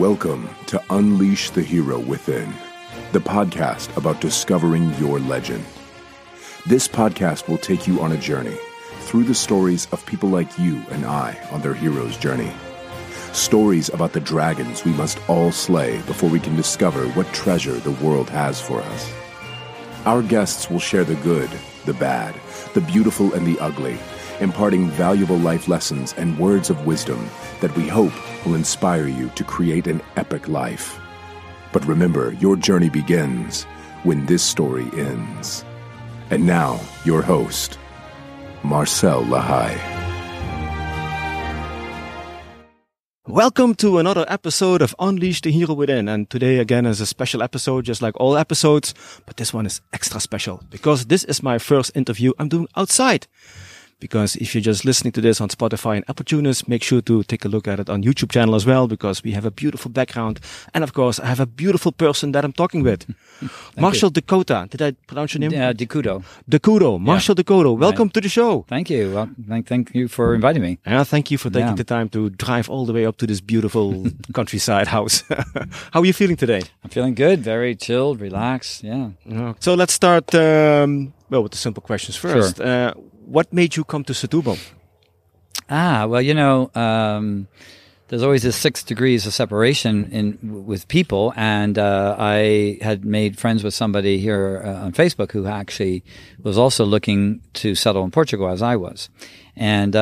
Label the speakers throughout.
Speaker 1: Welcome to Unleash the Hero Within, the podcast about discovering your legend. This podcast will take you on a journey through the stories of people like you and I on their hero's journey. Stories about the dragons we must all slay before we can discover what treasure the world has for us. Our guests will share the good, the bad, the beautiful, and the ugly, imparting valuable life lessons and words of wisdom that we hope will inspire you to create an epic life. But remember, your journey begins when this story ends. And now, your host, Marcel Lahai.
Speaker 2: Welcome to another episode of Unleash the Hero Within, and today again is a special episode just like all episodes, but this one is extra special because this is my first interview I'm doing outside. Because if you're just listening to this on Spotify and Apple Tunes, make sure to take a look at it on YouTube channel as well, because we have a beautiful background. And of course, I have a beautiful person that I'm talking with. Marshall Dakota. Did I pronounce your name?
Speaker 3: Yeah, Decudo.
Speaker 2: Decudo. Marshall Decudo. Welcome to the show.
Speaker 3: Thank you. Well, thank you for inviting me.
Speaker 2: Yeah, thank you for taking the time to drive all the way up to this beautiful countryside house. How are you feeling today?
Speaker 3: I'm feeling good. Very chilled, relaxed. Yeah.
Speaker 2: So let's start, with the simple questions first. Sure. What made you come to Setúbal?
Speaker 3: There's always this 6 degrees of separation with people, and I had made friends with somebody here on Facebook who actually was also looking to settle in Portugal as I was, and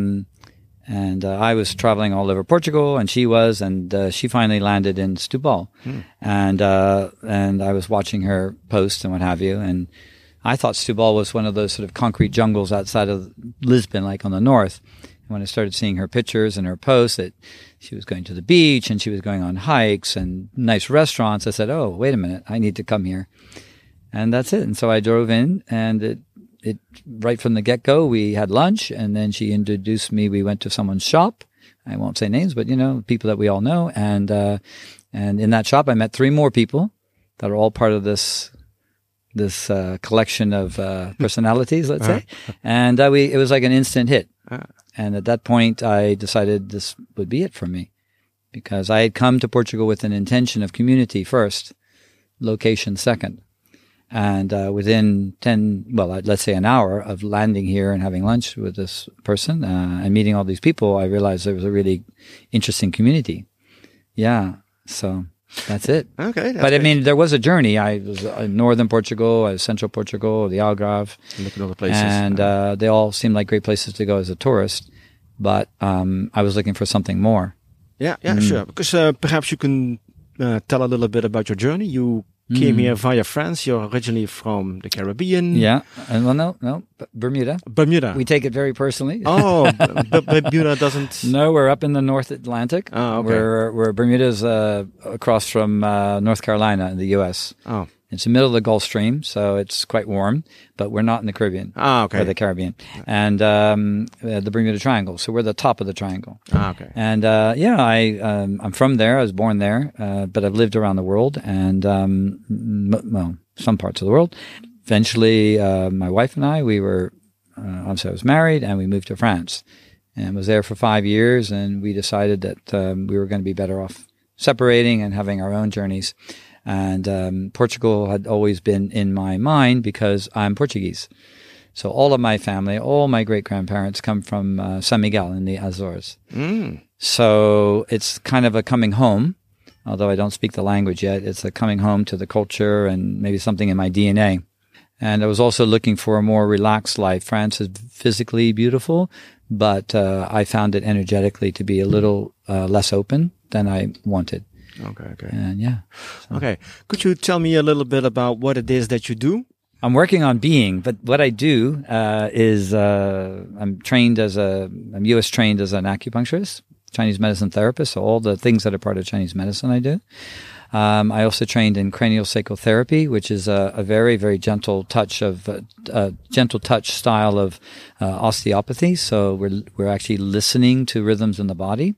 Speaker 3: I was traveling all over Portugal, and she was, and she finally landed in Setúbal, and I was watching her post and what have you, and I thought Setúbal was one of those sort of concrete jungles outside of Lisbon, like on the north. And when I started seeing her pictures and her posts that she was going to the beach and she was going on hikes and nice restaurants, I said, oh, wait a minute, I need to come here. And that's it. And so I drove in, and it right from the get-go, we had lunch, and then she introduced me. We went to someone's shop. I won't say names, but, people that we all know. And in that shop, I met 3 more people that are all part of this collection of personalities, let's say, and it was like an instant hit. And at that point, I decided this would be it for me, because I had come to Portugal with an intention of community first, location second, and within let's say an hour of landing here and having lunch with this person and meeting all these people, I realized there was a really interesting community. Yeah, so. That's it.
Speaker 2: Okay.
Speaker 3: But I mean, there was a journey. I was in northern Portugal, I was central Portugal, the Algarve.
Speaker 2: Look at all the places.
Speaker 3: And they all seemed like great places to go as a tourist. But I was looking for something more.
Speaker 2: Yeah, sure. Because perhaps you can tell a little bit about your journey. You came here via France. You're originally from the Caribbean.
Speaker 3: Yeah. No, Bermuda.
Speaker 2: Bermuda.
Speaker 3: We take it very personally.
Speaker 2: Oh, but Bermuda doesn't...
Speaker 3: No, we're up in the North Atlantic.
Speaker 2: Oh, okay.
Speaker 3: We're Bermuda's across from North Carolina in the U.S.
Speaker 2: Oh.
Speaker 3: It's the middle of the Gulf Stream, so it's quite warm, but we're not in the Caribbean.
Speaker 2: Okay.
Speaker 3: Or the Caribbean. And the Bermuda Triangle, so we're the top of the triangle.
Speaker 2: Okay.
Speaker 3: And I'm from there. I was born there, but I've lived around the world, and some parts of the world. Eventually, my wife and I, I was married, and we moved to France, and was there for 5 years, and we decided that we were going to be better off separating and having our own journeys. And Portugal had always been in my mind because I'm Portuguese. So all of my family, all my great-grandparents come from San Miguel in the Azores. So it's kind of a coming home, although I don't speak the language yet. It's a coming home to the culture and maybe something in my DNA. And I was also looking for a more relaxed life. France is physically beautiful, but I found it energetically to be a little less open than I wanted.
Speaker 2: Okay.
Speaker 3: And
Speaker 2: Okay. Could you tell me a little bit about what it is that you do?
Speaker 3: I'm working on being, but what I do is I'm U.S. trained as an acupuncturist, Chinese medicine therapist. So all the things that are part of Chinese medicine I do. I also trained in craniosacral therapy, which is a very, very gentle touch style of osteopathy. So we're actually listening to rhythms in the body.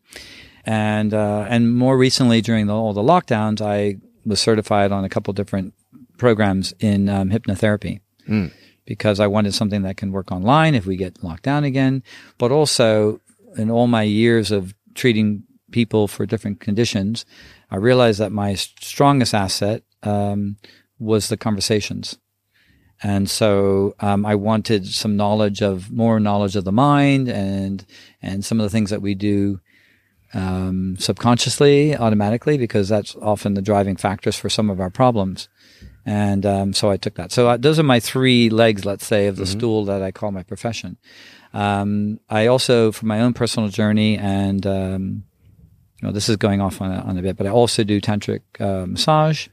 Speaker 3: And more recently, during all the lockdowns, I was certified on a couple different programs in hypnotherapy because I wanted something that can work online if we get locked down again. But also, in all my years of treating people for different conditions, I realized that my strongest asset was the conversations. And so I wanted some more knowledge of the mind and some of the things that we do subconsciously, automatically, because that's often the driving factors for some of our problems. And so I took that. So those are my 3 legs, let's say, of the stool that I call my profession. I also, for my own personal journey, and this is going off on a bit, but I also do tantric massage.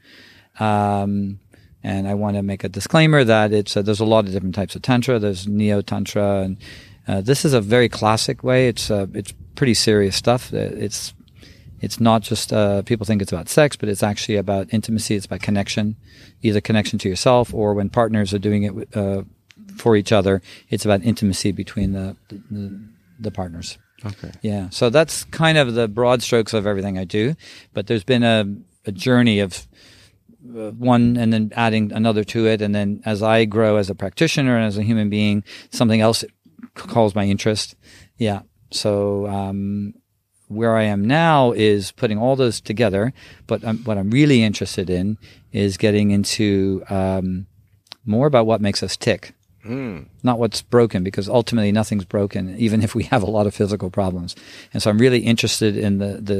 Speaker 3: And I want to make a disclaimer that there's a lot of different types of tantra. There's neo tantra, and this is a very classic way. It's pretty serious stuff. It's not just people think it's about sex, but it's actually about intimacy. It's about connection, either connection to yourself or when partners are doing it for each other. It's about intimacy between the partners.
Speaker 2: Okay.
Speaker 3: Yeah. So that's kind of the broad strokes of everything I do. But there's been a journey of one and then adding another to it. And then as I grow as a practitioner and as a human being, something else calls my interest. Yeah. So where I am now is putting all those together. But what I'm really interested in is getting into more about what makes us tick. Not what's broken, because ultimately nothing's broken, even if we have a lot of physical problems. And so I'm really interested in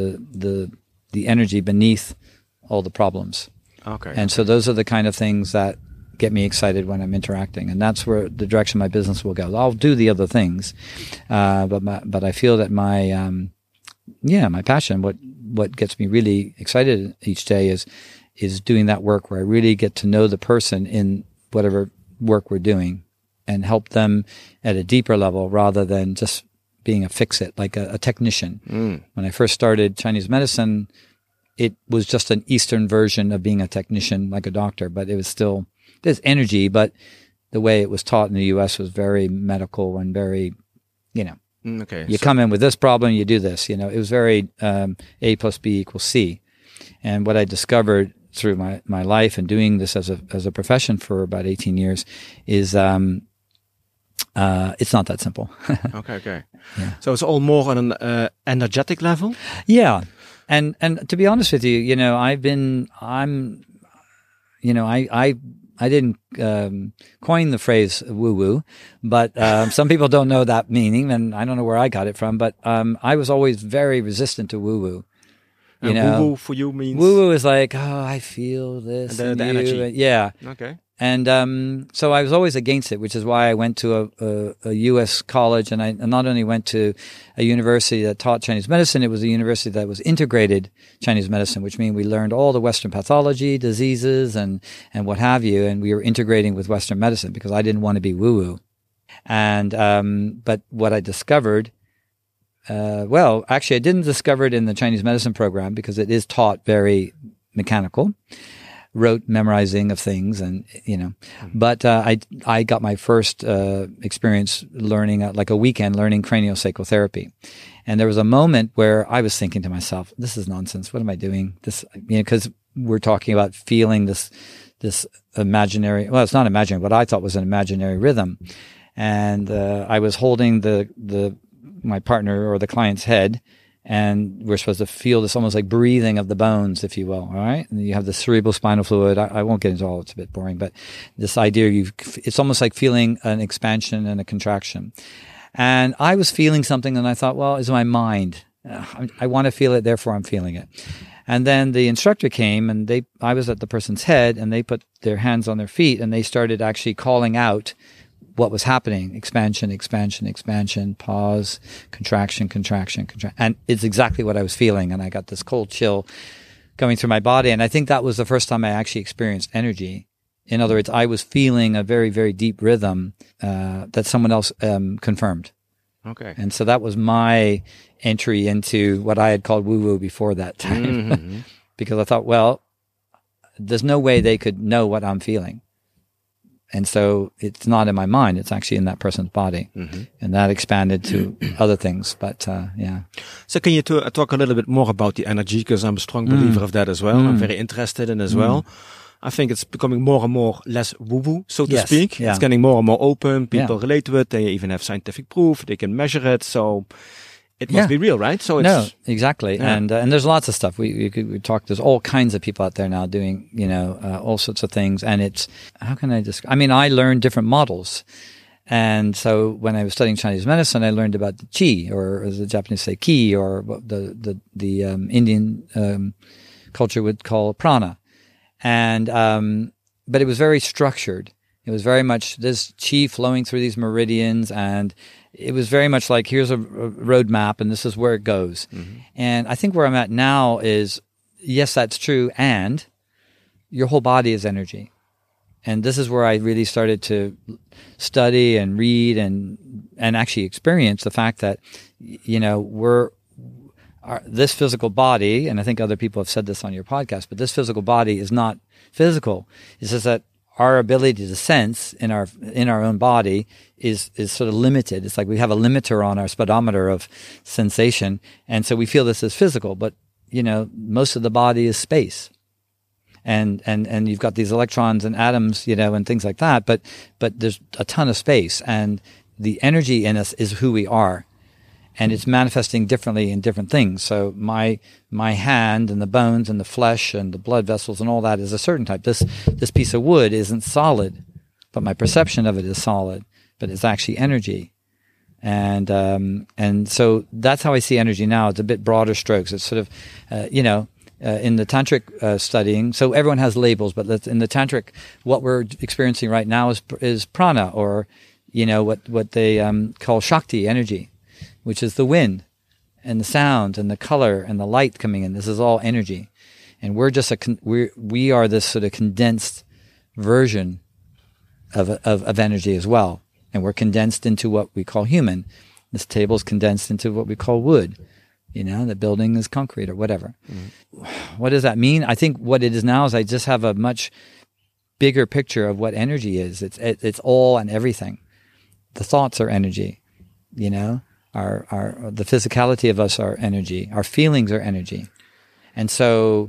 Speaker 3: the energy beneath all the problems.
Speaker 2: Okay.
Speaker 3: And so those are the kind of things that get me excited when I'm interacting, and that's where the direction my business will go. I'll do the other things, but I feel that my passion, what gets me really excited each day is doing that work where I really get to know the person in whatever work we're doing and help them at a deeper level rather than just being a fix-it, like a technician. When I first started Chinese medicine, it was just an Eastern version of being a technician, like a doctor, but it was still, there's energy, but the way it was taught in the U.S. was very medical and very,
Speaker 2: Okay.
Speaker 3: You come in with this problem, you do this, it was very A plus B equals C. And what I discovered through my life and doing this as a profession for about 18 years is it's not that simple.
Speaker 2: Okay.
Speaker 3: Yeah.
Speaker 2: So it's all more on an energetic level?
Speaker 3: Yeah. And to be honest with you, I didn't coin the phrase woo-woo, but some people don't know that meaning, and I don't know where I got it from, but I was always very resistant to woo-woo.
Speaker 2: Woo-woo for you means?
Speaker 3: Woo-woo is like, I feel this.
Speaker 2: The energy.
Speaker 3: Yeah.
Speaker 2: Okay.
Speaker 3: And so I was always against it, which is why I went to a U.S. college, and I not only went to a university that taught Chinese medicine, it was a university that was integrated Chinese medicine, which means we learned all the Western pathology, diseases, and what have you, and we were integrating with Western medicine because I didn't want to be woo-woo. And but what I discovered, actually I didn't discover it in the Chinese medicine program because it is taught very mechanical. Rote memorizing of things, and but I got my first experience learning like a weekend learning craniosacral therapy, and there was a moment where I was thinking to myself, "This is nonsense. What am I doing?" This, because we're talking about feeling this imaginary. Well, it's not imaginary. What I thought was an imaginary rhythm, and I was holding my partner or the client's head. And we're supposed to feel this almost like breathing of the bones, if you will. All right. And you have the cerebral spinal fluid. I won't get into all, it's a bit boring, but this idea it's almost like feeling an expansion and a contraction. And I was feeling something and I thought, well, it's my mind. I want to feel it. Therefore I'm feeling it. And then the instructor came and I was at the person's head and they put their hands on their feet and they started actually calling out what was happening. Expansion, expansion, expansion, pause, contraction, contraction, contraction. And it's exactly what I was feeling. And I got this cold chill going through my body. And I think that was the first time I actually experienced energy. In other words, I was feeling a very, very deep rhythm that someone else confirmed.
Speaker 2: Okay.
Speaker 3: And so that was my entry into what I had called woo-woo before that time.
Speaker 2: Mm-hmm.
Speaker 3: Because I thought, well, there's no way they could know what I'm feeling. And so it's not in my mind, it's actually in that person's body. Mm-hmm. And that expanded to other things. But yeah.
Speaker 2: So can you talk a little bit more about the energy? Because I'm a strong believer of that as well. I'm very interested in as well. I think it's becoming more and more less woo-woo, so to speak.
Speaker 3: Yeah.
Speaker 2: It's getting more and more open. People relate to it. They even have scientific proof. They can measure it. So it must be real, right? So it's,
Speaker 3: no, exactly. Yeah. And there's lots of stuff. We talk. There's all kinds of people out there now doing, all sorts of things. And it's, how can I describe? I mean, I learned different models. And so when I was studying Chinese medicine, I learned about the qi, or as the Japanese say, ki, or what the Indian culture would call prana. And but it was very structured. It was very much this qi flowing through these meridians, and it was very much like, here's a road map, and this is where it goes. Mm-hmm. And I think where I'm at now is, yes, that's true, and your whole body is energy. And this is where I really started to study and read and actually experience the fact that, this physical body, and I think other people have said this on your podcast, but this physical body is not physical. It's just that our ability to sense in our own body is sort of limited. It's like we have a limiter on our speedometer of sensation, and so we feel this is physical. But most of the body is space. And you've got these electrons and atoms, and things like that, but there's a ton of space, and the energy in us is who we are, and it's manifesting differently in different things. So my hand and the bones and the flesh and the blood vessels and all that is a certain type. This piece of wood isn't solid, but my perception of it is solid, but it's actually energy. And so that's how I see energy now. It's a bit broader strokes. It's sort of, in the tantric studying, so everyone has labels, but in the tantric, what we're experiencing right now is prana, or what they call shakti, energy, which is the wind and the sound and the color and the light coming in. This is all energy, and we're just we are this sort of condensed version of energy as well, and we're condensed into what we call human. This table is condensed into what we call wood. The building is concrete or whatever. Mm. What does that mean? I think what it is now is I just have a much bigger picture of what energy is. It's all and everything. The thoughts are energy, the physicality of us are energy. Our feelings are energy. And so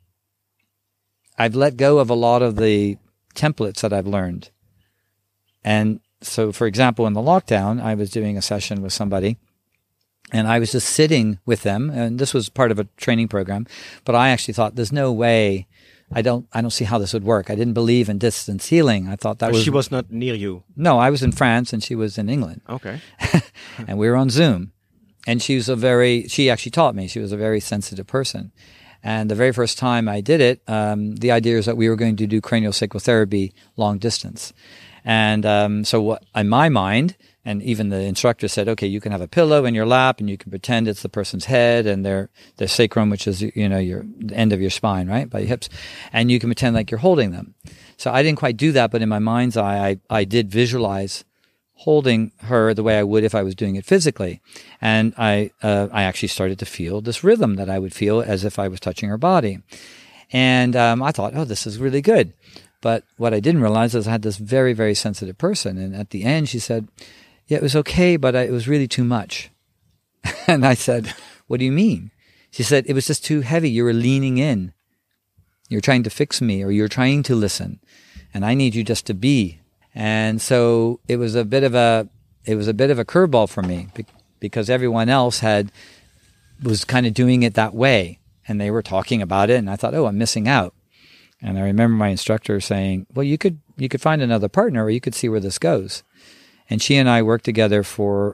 Speaker 3: I've let go of a lot of the templates that I've learned. And so, for example, in the lockdown, I was doing a session with somebody, and I was just sitting with them, and this was part of a training program, but I actually thought, there's no way, I don't see how this would work. I didn't believe in distance healing. I thought that
Speaker 2: she was not near you.
Speaker 3: No, I was in France and she was in England.
Speaker 2: Okay.
Speaker 3: And we were on Zoom. And she actually taught me. She was a very sensitive person. And the very first time I did it, the idea is that we were going to do craniosacral therapy long distance. And so what, in my mind, and even the instructor said, okay, you can have a pillow in your lap and you can pretend it's the person's head and their sacrum, which is, your the end of your spine, right, by your hips. And you can pretend like you're holding them. So I didn't quite do that, but in my mind's eye, I did visualize holding her the way I would if I was doing it physically. And I actually started to feel this rhythm that I would feel as if I was touching her body. And I thought, oh, this is really good. But what I didn't realize is I had this very, very sensitive person. And at the end, she said, yeah, it was okay, but it was really too much. And I said, what do you mean? She said, it was just too heavy. You were leaning in. You're trying to fix me, or you're trying to listen. And I need you just to be. And so it was a bit of a curveball for me, because everyone else was kind of doing it that way. And they were talking about it. And I thought, oh, I'm missing out. And I remember my instructor saying, well, you could find another partner, or you could see where this goes. And she and I worked together for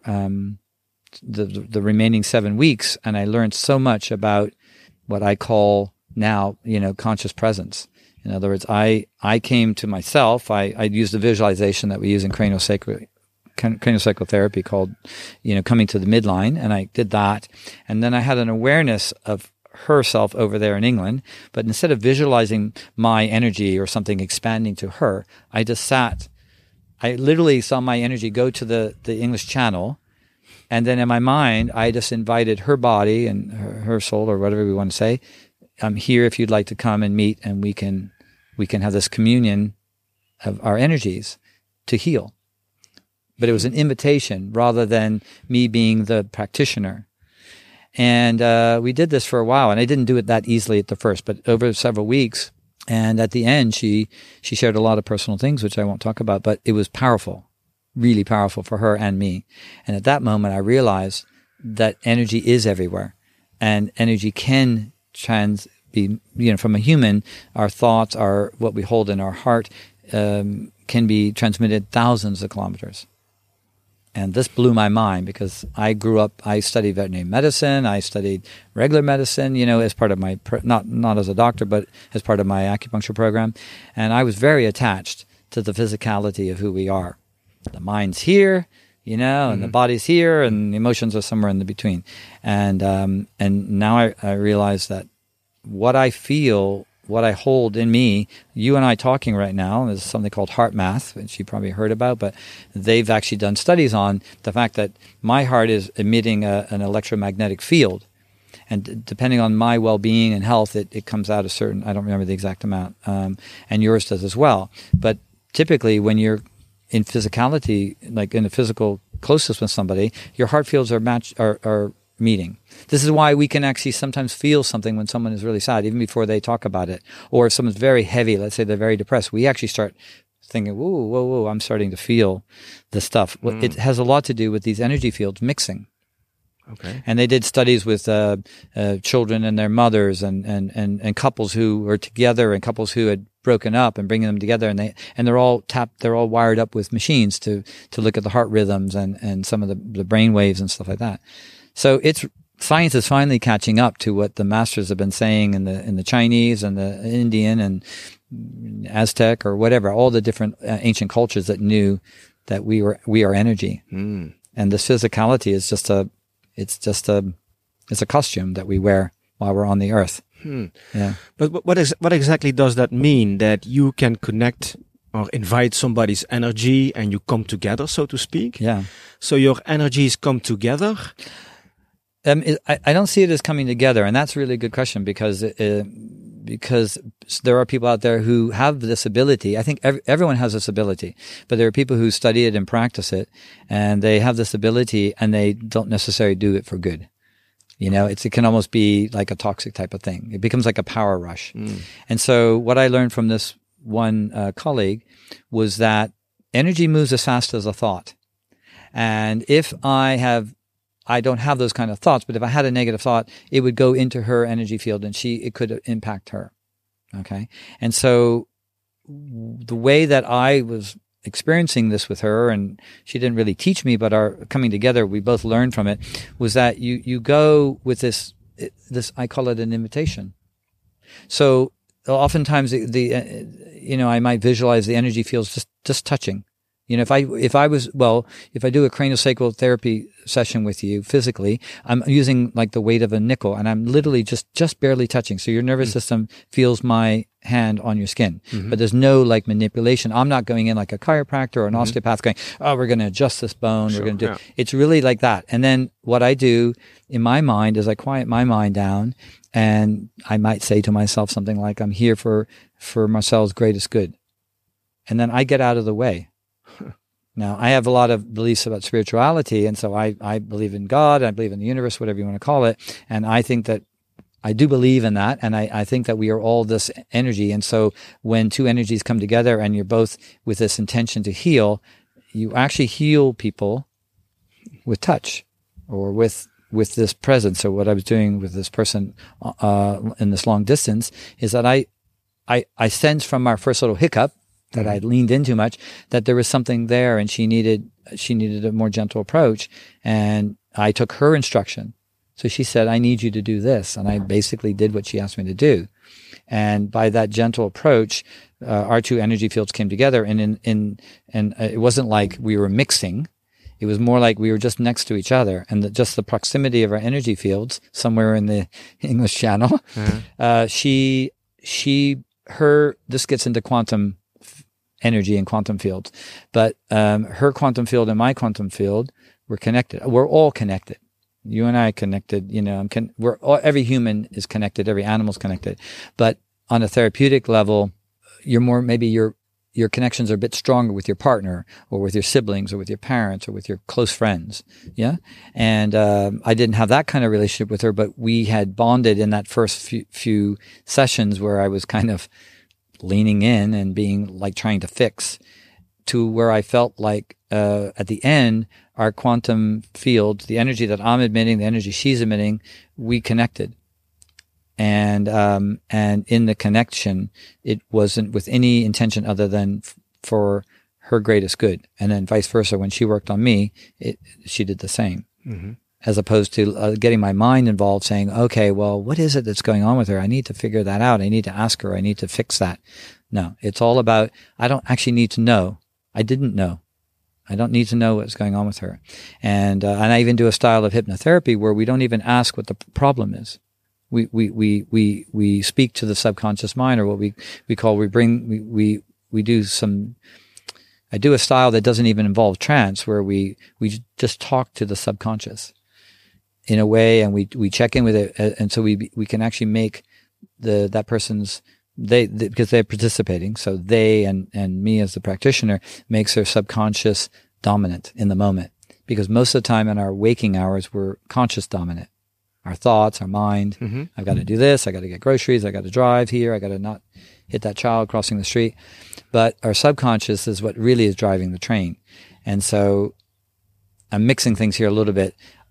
Speaker 3: the remaining 7 weeks, and I learned so much about what I call now, conscious presence. In other words, I came to myself. I used the visualization that we use in craniosacral therapy called, coming to the midline, and I did that. And then I had an awareness of herself over there in England, but instead of visualizing my energy or something expanding to her, I just sat. I literally saw my energy go to the English Channel, and then in my mind, I just invited her body and her soul, or whatever we want to say. I'm here if you'd like to come and meet, and we can have this communion of our energies to heal. But it was an invitation rather than me being the practitioner. And we did this for a while, and I didn't do it that easily at the first, but over several weeks. And at the end, she shared a lot of personal things, which I won't talk about, but it was powerful, really powerful for her and me. And at that moment, I realized that energy is everywhere, and energy can be, from a human, our thoughts, what we hold in our heart, can be transmitted thousands of kilometers. And this blew my mind because I studied veterinary medicine, I studied regular medicine, as part of my, not as a doctor, but as part of my acupuncture program. And I was very attached to the physicality of who we are. The mind's here, and the body's here, and the emotions are somewhere in the between. And now I realize that what I feel, what I hold in me, you and I talking right now, is something called heart math, which you probably heard about, but they've actually done studies on the fact that my heart is emitting an electromagnetic field. And depending on my well-being and health, it comes out a certain, I don't remember the exact amount, and yours does as well. But typically when you're in physicality, like in a physical closeness with somebody, your heart fields are meeting. This is why we can actually sometimes feel something when someone is really sad, even before they talk about it. Or if someone's very heavy, let's say they're very depressed, we actually start thinking, whoa, I'm starting to feel this stuff. Well, it has a lot to do with these energy fields mixing.
Speaker 2: Okay.
Speaker 3: And they did studies with children and their mothers and couples who were together and couples who had broken up and bringing them together, and they're all wired up with machines to look at the heart rhythms and some of the brain waves and stuff like that. So science is finally catching up to what the masters have been saying in the Chinese and the Indian and Aztec or whatever, all the different ancient cultures that knew that we are energy. And this physicality is it's a costume that we wear while we're on the earth. Yeah.
Speaker 2: But what exactly does that mean, that you can connect or invite somebody's energy and you come together, so to speak?
Speaker 3: Yeah.
Speaker 2: So your energies come together?
Speaker 3: I don't see it as coming together, and that's a really good question because there are people out there who have this ability. I think everyone has this ability, but there are people who study it and practice it, and they have this ability, and they don't necessarily do it for good. It can almost be like a toxic type of thing. It becomes like a power rush. And so what I learned from this one colleague was that energy moves as fast as a thought. And if I don't have those kind of thoughts, but if I had a negative thought, it would go into her energy field and it could impact her. Okay. And so the way that I was experiencing this with her, and she didn't really teach me, but our coming together, we both learned from it, was that you go with this, I call it an invitation. So oftentimes I might visualize the energy fields just touching. If I do a craniosacral therapy session with you physically, I'm using like the weight of a nickel, and I'm literally just barely touching. So your nervous system feels my hand on your skin, but there's no like manipulation. I'm not going in like a chiropractor or an osteopath going, we're going to adjust this bone. We're going to do. It's really like that. And then what I do in my mind is I quiet my mind down, and I might say to myself something like, I'm here for Marcel's greatest good. And then I get out of the way. Now, I have a lot of beliefs about spirituality, and so I believe in God, I believe in the universe, whatever you want to call it, and I think that I do believe in that, and I think that we are all this energy, and so when two energies come together and you're both with this intention to heal, you actually heal people with touch or with this presence. So what I was doing with this person in this long distance is that I sensed from our first little hiccup that I leaned in too much, that there was something there, and she needed a more gentle approach. And I took her instruction. So she said, I need you to do this. And I basically did what she asked me to do. And by that gentle approach, our two energy fields came together. And it wasn't like we were mixing. It was more like we were just next to each other, and just the proximity of our energy fields somewhere in the English Channel. This gets into quantum energy and quantum fields, but her quantum field and my quantum field were connected. We're all connected. You and I are connected. Every human is connected. Every animal is connected. But on a therapeutic level, your connections are a bit stronger with your partner, or with your siblings, or with your parents, or with your close friends. Yeah, and I didn't have that kind of relationship with her, but we had bonded in that first few sessions where I was kind of leaning in and being like trying to fix, to where I felt like at the end, our quantum field, the energy that I'm emitting, the energy she's emitting, we connected. And in the connection, it wasn't with any intention other than for her greatest good. And then vice versa. When she worked on me, she did the same. Mm-hmm. As opposed to getting my mind involved, saying, okay, well, what is it that's going on with her? I need to figure that out. I need to ask her. I need to fix that. No, it's all about, I don't actually need to know. I didn't know. I don't need to know what's going on with her. And I even do a style of hypnotherapy where we don't even ask what the problem is. We speak to the subconscious mind, or what we do some, I do a style that doesn't even involve trance, where we just talk to the subconscious in a way, and we check in with it, and so we can actually make that person's, because they're participating, so they and me as the practitioner makes their subconscious dominant in the moment, because most of the time in our waking hours we're conscious dominant, our thoughts, our mind. Mm-hmm. I've got to do this, I got to get groceries, I got to drive here, I got to not hit that child crossing the street. But our subconscious is what really is driving the train. And so I'm mixing things here a little bit,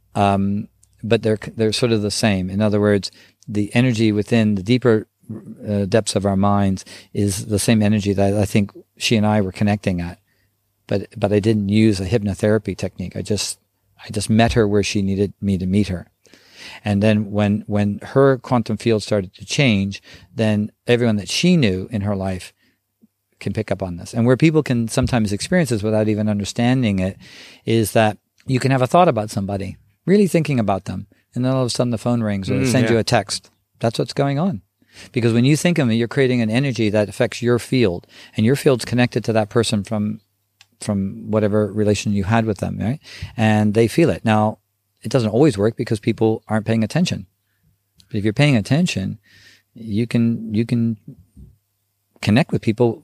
Speaker 3: but they're sort of the same. In other words, the energy within the deeper depths of our minds is the same energy that I think she and I were connecting at. But I didn't use a hypnotherapy technique. I just met her where she needed me to meet her. And then when her quantum field started to change, then everyone that she knew in her life can pick up on this. And where people can sometimes experience this without even understanding it is that you can have a thought about somebody, really thinking about them, and then all of a sudden the phone rings or they send you a text. That's what's going on. Because when you think of it, you're creating an energy that affects your field, and your field's connected to that person from whatever relation you had with them, right? And they feel it. Now, it doesn't always work because people aren't paying attention. But if you're paying attention, you can connect with people,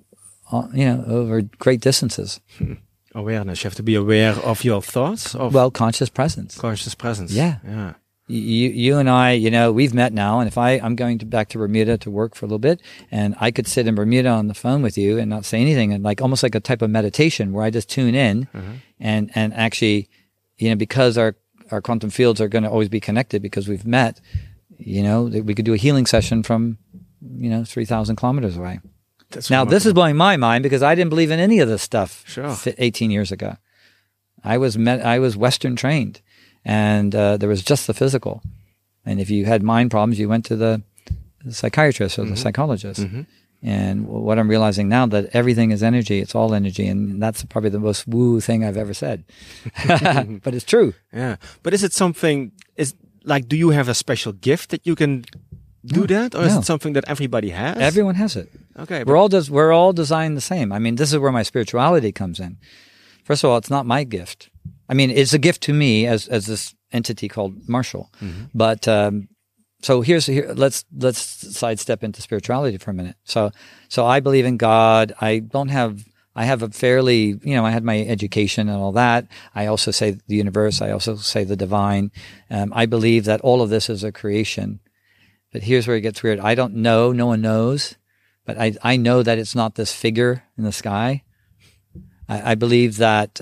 Speaker 3: over great distances.
Speaker 2: Awareness. You have to be aware of your thoughts.
Speaker 3: Conscious presence.
Speaker 2: Conscious presence.
Speaker 3: Yeah. You and I, we've met now, and if I'm going back to Bermuda to work for a little bit, and I could sit in Bermuda on the phone with you and not say anything, and almost like a type of meditation where I just tune in, and actually, because our quantum fields are going to always be connected because we've met, we could do a healing session from, 3,000 kilometers away. That's now, this is blowing my mind because I didn't believe in any of this stuff 18 years ago. I was Western trained, and there was just the physical. And if you had mind problems, you went to the psychiatrist or the psychologist. Mm-hmm. And what I'm realizing now, that everything is energy. It's all energy. And that's probably the most woo thing I've ever said. But it's true.
Speaker 2: Yeah. But is it something, do you have a special gift that you can do that? Or is it something that everybody has?
Speaker 3: Everyone has it.
Speaker 2: Okay.
Speaker 3: We're all designed the same. I mean, this is where my spirituality comes in. First of all, it's not my gift. I mean, it's a gift to me as this entity called Marshall. Mm-hmm. But, so let's sidestep into spirituality for a minute. So I believe in God. I have a fairly, I had my education and all that. I also say the universe. I also say the divine. I believe that all of this is a creation. But here's where it gets weird. I don't know. No one knows. But I know that it's not this figure in the sky. I believe that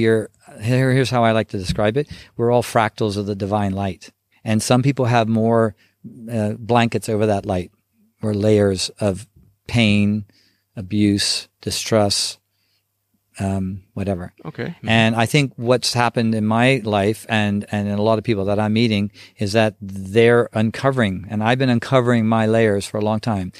Speaker 3: here's how I like to describe it. We're all fractals of the divine light. And some people have more blankets over that light, or layers of pain, abuse, distress, whatever.
Speaker 2: Okay. Mm-hmm.
Speaker 3: And I think what's happened in my life and in a lot of people that I'm meeting is that they're uncovering, and I've been uncovering my layers for a long time.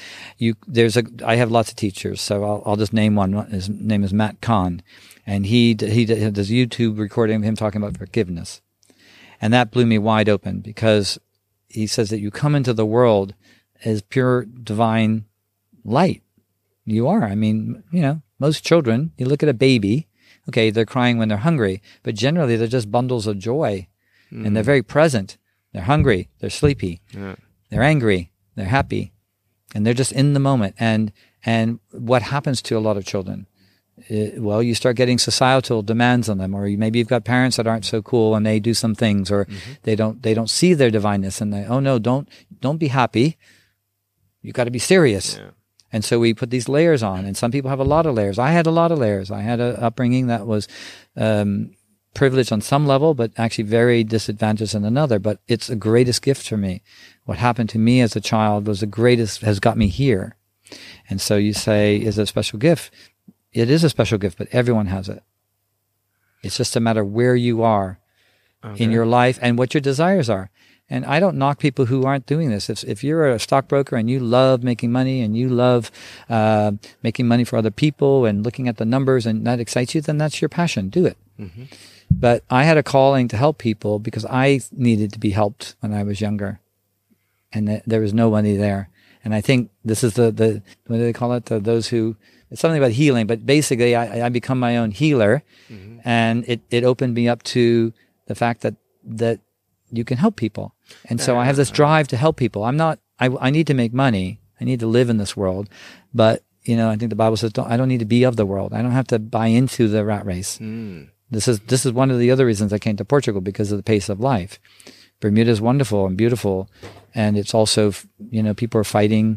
Speaker 3: I have lots of teachers, so I'll just name one. His name is Matt Kahn, and he does YouTube recording of him talking about forgiveness. And that blew me wide open, because he says that you come into the world as pure divine light. You are. I mean, most children, you look at a baby, okay, they're crying when they're hungry, but generally they're just bundles of joy, and they're very present. They're hungry, they're sleepy, they're angry, they're happy, and they're just in the moment. And what happens to a lot of children? You start getting societal demands on them, or maybe you've got parents that aren't so cool and they do some things, or they don't see their divineness, and don't be happy. You got to be serious. Yeah. And so we put these layers on, and some people have a lot of layers. I had a lot of layers. I had an upbringing that was privileged on some level, but actually very disadvantaged in another. But it's the greatest gift for me. What happened to me as a child was the greatest, has got me here. And so you say, is it a special gift? It is a special gift, but everyone has it. It's just a matter where you are in your life and what your desires are. And I don't knock people who aren't doing this. If you're a stockbroker and you love making money and you love making money for other people and looking at the numbers and that excites you, then that's your passion. Do it. Mm-hmm. But I had a calling to help people because I needed to be helped when I was younger. And there was nobody there. And I think this is the what do they call it? Those who, it's something about healing, but basically I become my own healer. Mm-hmm. And it opened me up to the fact that you can help people. And so I have this drive to help people. I need to make money. I need to live in this world. But, I think the Bible says, I don't need to be of the world. I don't have to buy into the rat race. Mm. This is one of the other reasons I came to Portugal, because of the pace of life. Bermuda is wonderful and beautiful. And it's also, people are fighting,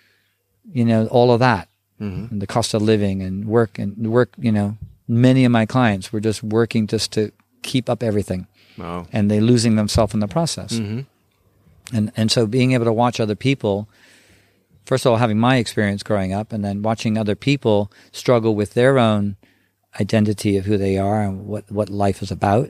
Speaker 3: all of that. Mm-hmm. And the cost of living and work, many of my clients were just working just to keep up everything. Wow. And they're losing themselves in the process. Mm-hmm. And so being able to watch other people, first of all, having my experience growing up, and then watching other people struggle with their own identity of who they are and what life is about,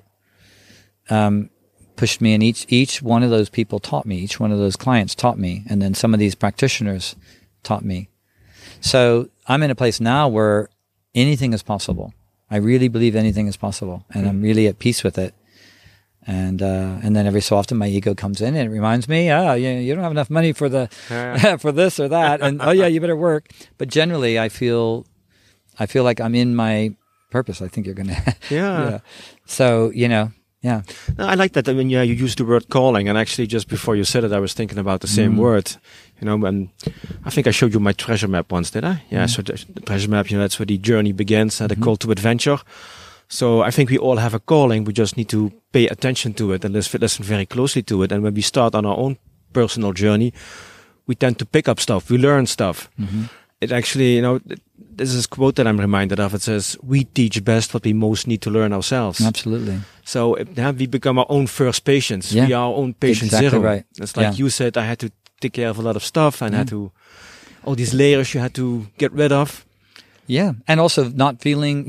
Speaker 3: pushed me. And each one of those people taught me. Each one of those clients taught me. And then some of these practitioners taught me. So I'm in a place now where anything is possible. I really believe anything is possible. And I'm really at peace with it. And then every so often my ego comes in and it reminds me, you don't have enough money for for this or that. And you better work. But generally I feel like I'm in my purpose. I think you're going to. Yeah. So, yeah.
Speaker 2: No, I like that. I mean, you used the word calling, and actually just before you said it, I was thinking about the same word, and I think I showed you my treasure map once, did I? Yeah. So the treasure map, that's where the journey begins, the call to adventure. So I think we all have a calling. We just need to pay attention to it and listen very closely to it. And when we start on our own personal journey, we tend to pick up stuff. We learn stuff. Mm-hmm. It actually, this is a quote that I'm reminded of. It says, we teach best what we most need to learn ourselves.
Speaker 3: Absolutely.
Speaker 2: So we become our own first patients. Yeah. We are our own patient zero.
Speaker 3: Right.
Speaker 2: It's like you said, I had to take care of a lot of stuff and had to, all these layers you had to get rid of.
Speaker 3: Yeah, and also not feeling,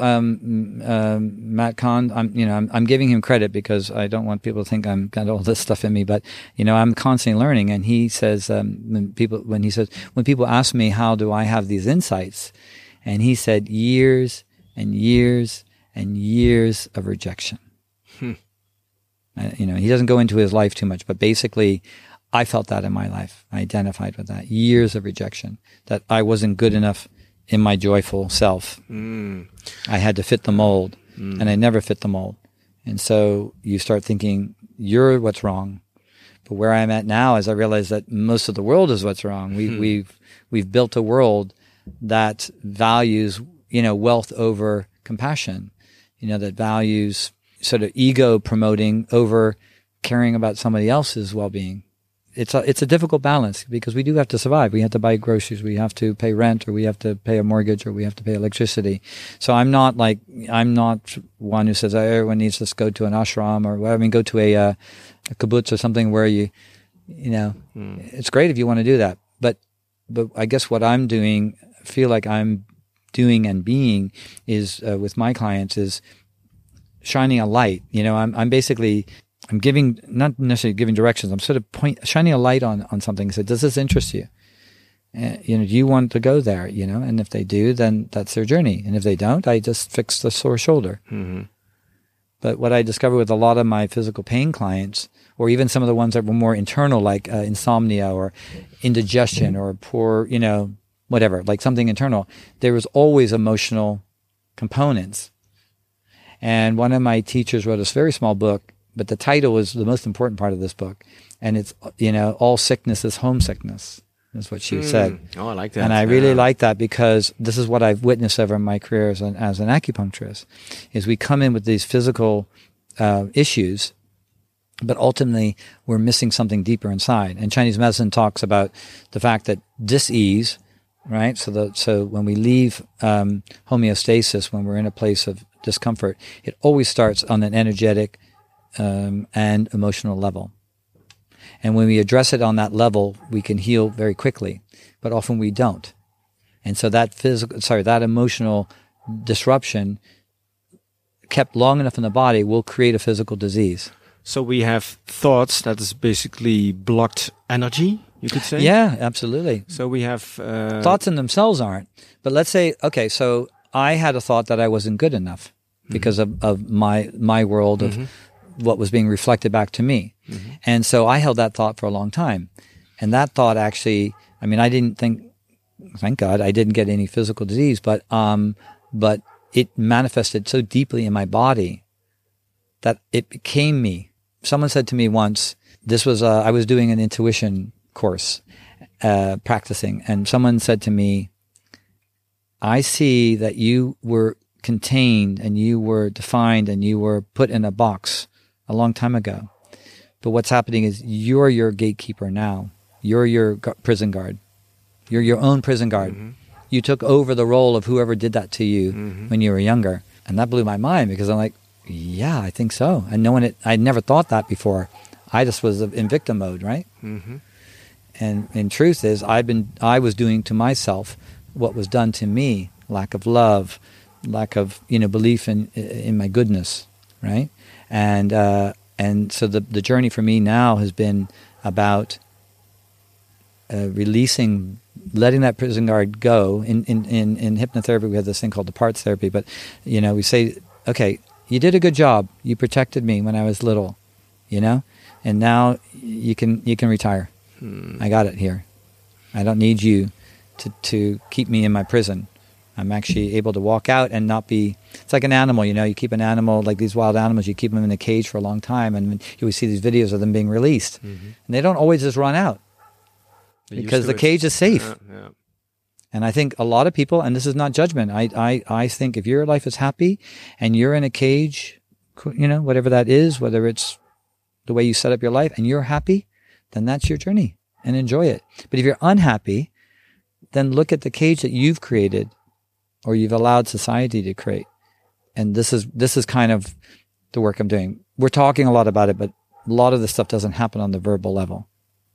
Speaker 3: Matt Kahn. I'm giving him credit because I don't want people to think I'm got all this stuff in me. But I'm constantly learning. And he says when people ask me how do I have these insights, and he said years and years and years of rejection. He doesn't go into his life too much, but basically, I felt that in my life. I identified with that. Years of rejection, that I wasn't good enough in my joyful self. I had to fit the mold, and I never fit the mold. And so you start thinking, you're what's wrong. But where I'm at now is I realize that most of the world is what's wrong. We've built a world that values, wealth over compassion, that values sort of ego promoting over caring about somebody else's well-being. It's a difficult balance because we do have to survive. We have to buy groceries. We have to pay rent, or we have to pay a mortgage, or we have to pay electricity. So I'm not one who says everyone needs to go to an ashram or go to a kibbutz or something where it's great if you want to do that. But I guess what I'm doing, feel like I'm doing and being is with my clients is shining a light. I'm basically. I'm not necessarily giving directions. I'm sort of shining a light on something. So, does this interest you? Do you want to go there? And if they do, then that's their journey. And if they don't, I just fix the sore shoulder. Mm-hmm. But what I discovered with a lot of my physical pain clients, or even some of the ones that were more internal, like insomnia or indigestion or poor, whatever, like something internal, there was always emotional components. And one of my teachers wrote a very small book, but the title was the most important part of this book. And it's, all sickness is homesickness, is what she said.
Speaker 2: Oh, I like that.
Speaker 3: And I really like that because this is what I've witnessed over my career as an acupuncturist, is we come in with these physical issues, but ultimately we're missing something deeper inside. And Chinese medicine talks about the fact that dis-ease right? So when we leave homeostasis, when we're in a place of discomfort, it always starts on an energetic and emotional level. And when we address it on that level, we can heal very quickly, but often we don't. And so that emotional disruption kept long enough in the body will create a physical disease.
Speaker 2: So we have thoughts that is basically blocked energy, you could say?
Speaker 3: Yeah, absolutely.
Speaker 2: So we have...
Speaker 3: thoughts in themselves aren't. But let's say, okay, so I had a thought that I wasn't good enough because of my world of what was being reflected back to me. And so I held that thought for a long time. And that thought actually, I mean, I didn't think, thank God, I didn't get any physical disease, but it manifested so deeply in my body that it became me. Someone said to me once, this was, I was doing an intuition course, practicing, and someone said to me, I see that you were contained and you were defined and you were put in a box a long time ago. But what's happening is you're your gatekeeper now. You're your prison guard. You're your own prison guard. You took over the role of whoever did that to you when you were younger. And that blew my mind because I'm like, yeah, I think so. And I'd never thought that before. I just was in victim mode, right? And in truth is, I was doing to myself what was done to me, lack of love, lack of, belief in my goodness, right? And so the journey for me now has been about releasing, letting that prison guard go. In hypnotherapy, we have this thing called the parts therapy, but, we say, okay, you did a good job. You protected me when I was little, and now you can retire. I got it here. I don't need you to keep me in my prison. I'm actually able to walk out and not be... It's like an animal, you keep an animal, like these wild animals, you keep them in a cage for a long time, and you always see these videos of them being released. And they don't always just run out because the cage is safe.
Speaker 2: Yeah.
Speaker 3: And I think a lot of people, and this is not judgment, I think if your life is happy and you're in a cage, whatever that is, whether it's the way you set up your life and you're happy, then that's your journey and enjoy it. But if you're unhappy, then look at the cage that you've created or you've allowed society to create. And this is kind of the work I'm doing. We're talking a lot about it, but a lot of this stuff doesn't happen on the verbal level.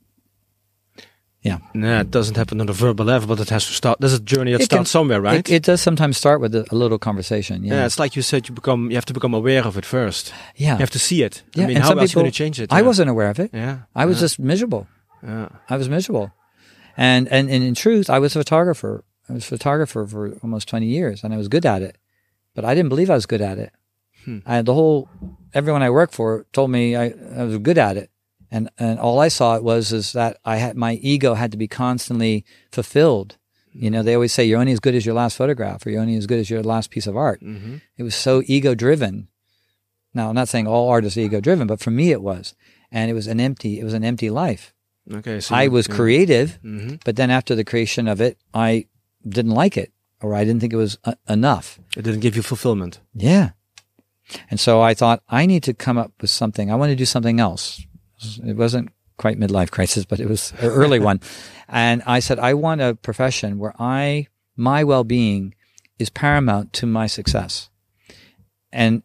Speaker 3: Yeah.
Speaker 2: No, it doesn't happen on the verbal level, but it has to start. There's a journey that starts somewhere, right?
Speaker 3: It does sometimes start with a little conversation.
Speaker 2: Yeah, it's like you said, you have to become aware of it first.
Speaker 3: Yeah.
Speaker 2: You have to see it.
Speaker 3: Yeah.
Speaker 2: I mean, how else are you going to change it?
Speaker 3: I wasn't aware of it.
Speaker 2: Yeah.
Speaker 3: I was just miserable.
Speaker 2: Yeah.
Speaker 3: I was miserable. And in truth, I was a photographer. I was a photographer for almost 20 years, and I was good at it. But I didn't believe I was good at it. Everyone I worked for told me I was good at it. And all I saw is that my ego had to be constantly fulfilled. They always say you're only as good as your last photograph, or you're only as good as your last piece of art. It was so ego driven. Now, I'm not saying all art is ego driven, but for me it was. And it was an empty life.
Speaker 2: Okay. So
Speaker 3: I was creative, but then after the creation of it, I didn't like it, or I didn't think it was enough.
Speaker 2: It didn't give you fulfillment.
Speaker 3: Yeah. And so I thought, I need to come up with something. I want to do something else. It wasn't quite midlife crisis, but it was an early one. And I said, I want a profession where my well-being is paramount to my success. And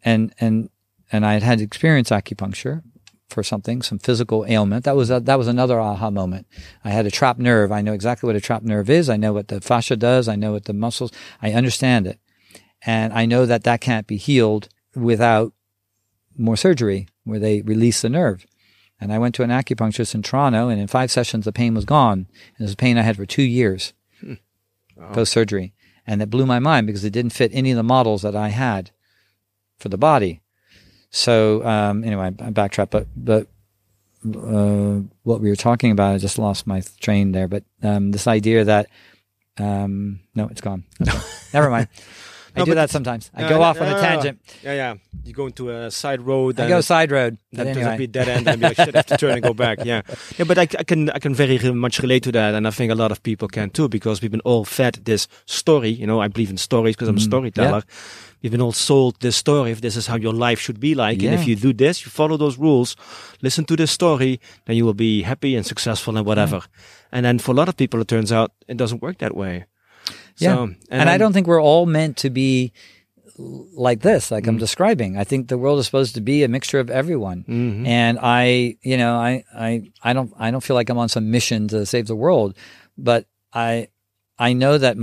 Speaker 3: I had experienced acupuncture for some physical ailment. That was another aha moment. I had a trapped nerve. I know exactly what a trapped nerve is. I know what the fascia does. I know what the muscles, I understand it. And I know that can't be healed without more surgery where they release the nerve. And I went to an acupuncturist in Toronto, and in 5 sessions, the pain was gone. And it was a pain I had for 2 years post-surgery. And it blew my mind because it didn't fit any of the models that I had for the body. So anyway, I backtracked, but what we were talking about, I just lost my train there. But this idea that, no, it's gone. Okay. Never mind. I do that sometimes. I go off on a tangent.
Speaker 2: Yeah. You go into a side road.
Speaker 3: I go side road.
Speaker 2: That doesn't be a dead end and be like, shit, I have to turn and go back. Yeah. Yeah, but I can very much relate to that. And I think a lot of people can too, because we've been all fed this story. I believe in stories because I'm a storyteller. Yeah. We've been all sold this story. If this is how your life should be like. Yeah. And if you do this, you follow those rules, listen to this story, then you will be happy and successful and whatever. Yeah. And then for a lot of people, it turns out it doesn't work that way.
Speaker 3: Yeah.
Speaker 2: So,
Speaker 3: and I don't think we're all meant to be like this, like I'm describing. I think the world is supposed to be a mixture of everyone. And I don't feel like I'm on some mission to save the world, but I know that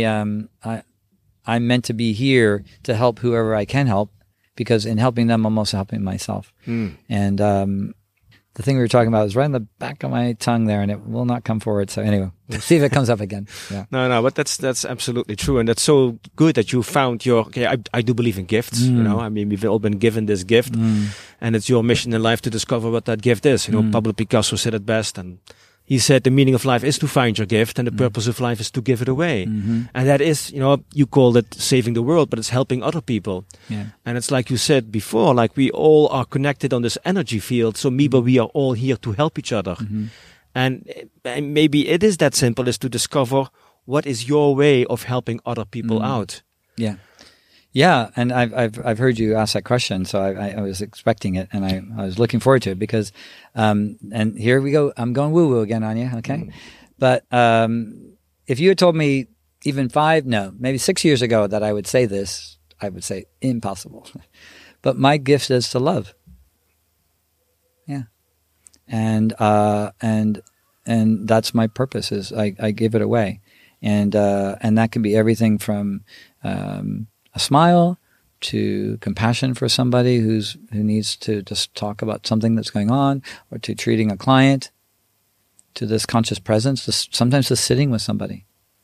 Speaker 3: I'm meant to be here to help whoever I can help, because in helping them, I'm also helping myself. And the thing we were talking about is right on the back of my tongue there, and it will not come forward. So anyway, we'll see if it comes up again. Yeah.
Speaker 2: No, but that's absolutely true. And that's so good that you found I do believe in gifts, you know. I mean, we've all been given this gift, and it's your mission in life to discover what that gift is. You know, Pablo Picasso said it best, and he said the meaning of life is to find your gift, and the purpose of life is to give it away. And that is, you know, you called it saving the world, but it's helping other people.
Speaker 3: Yeah.
Speaker 2: And it's like you said before, like we all are connected on this energy field. So maybe we are all here to help each other. And maybe it is that simple, is to discover what is your way of helping other people out.
Speaker 3: Yeah. Yeah, and I've heard you ask that question, so I was expecting it, and I was looking forward to it, because, and here we go. I'm going woo woo again on you, okay? But if you had told me even maybe 6 years ago that I would say this, I would say impossible. But my gift is to love. Yeah, and that's my purpose. Is I give it away, and that can be everything from a smile to compassion for somebody who needs to just talk about something that's going on, or to treating a client, to this conscious presence, sometimes just sitting with somebody,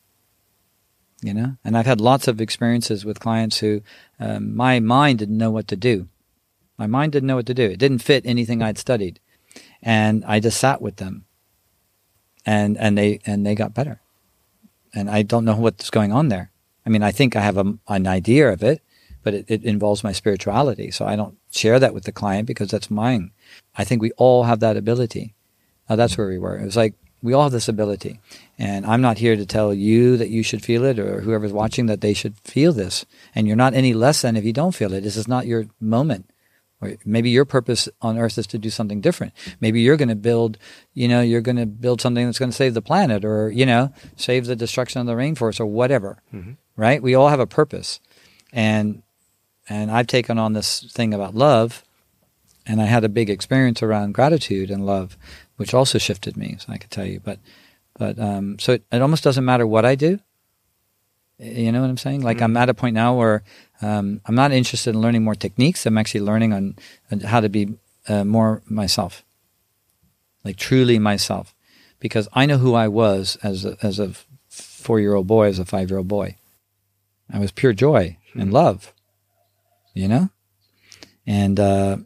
Speaker 3: you know. And I've had lots of experiences with clients who my mind didn't know what to do. My mind didn't know what to do. It didn't fit anything I'd studied, and I just sat with them, and they got better. And I don't know what's going on there. I mean, I think I have an idea of it, but it involves my spirituality. So I don't share that with the client because that's mine. I think we all have that ability. That's where we were. It was like, we all have this ability. And I'm not here to tell you that you should feel it, or whoever's watching that they should feel this. And you're not any less than if you don't feel it. This is not your moment. Or maybe your purpose on earth is to do something different. Maybe you're going to build something that's going to save the planet, or, you know, save the destruction of the rainforest, or whatever. Right? We all have a purpose. And I've taken on this thing about love, and I had a big experience around gratitude and love, which also shifted me, so I could tell you. But so it almost doesn't matter what I do. You know what I'm saying? Like, I'm at a point now where I'm not interested in learning more techniques. I'm actually learning on how to be more myself, like truly myself, because I know who I was as a 4-year-old boy, as a 5-year-old boy. I was pure joy and love, you know? And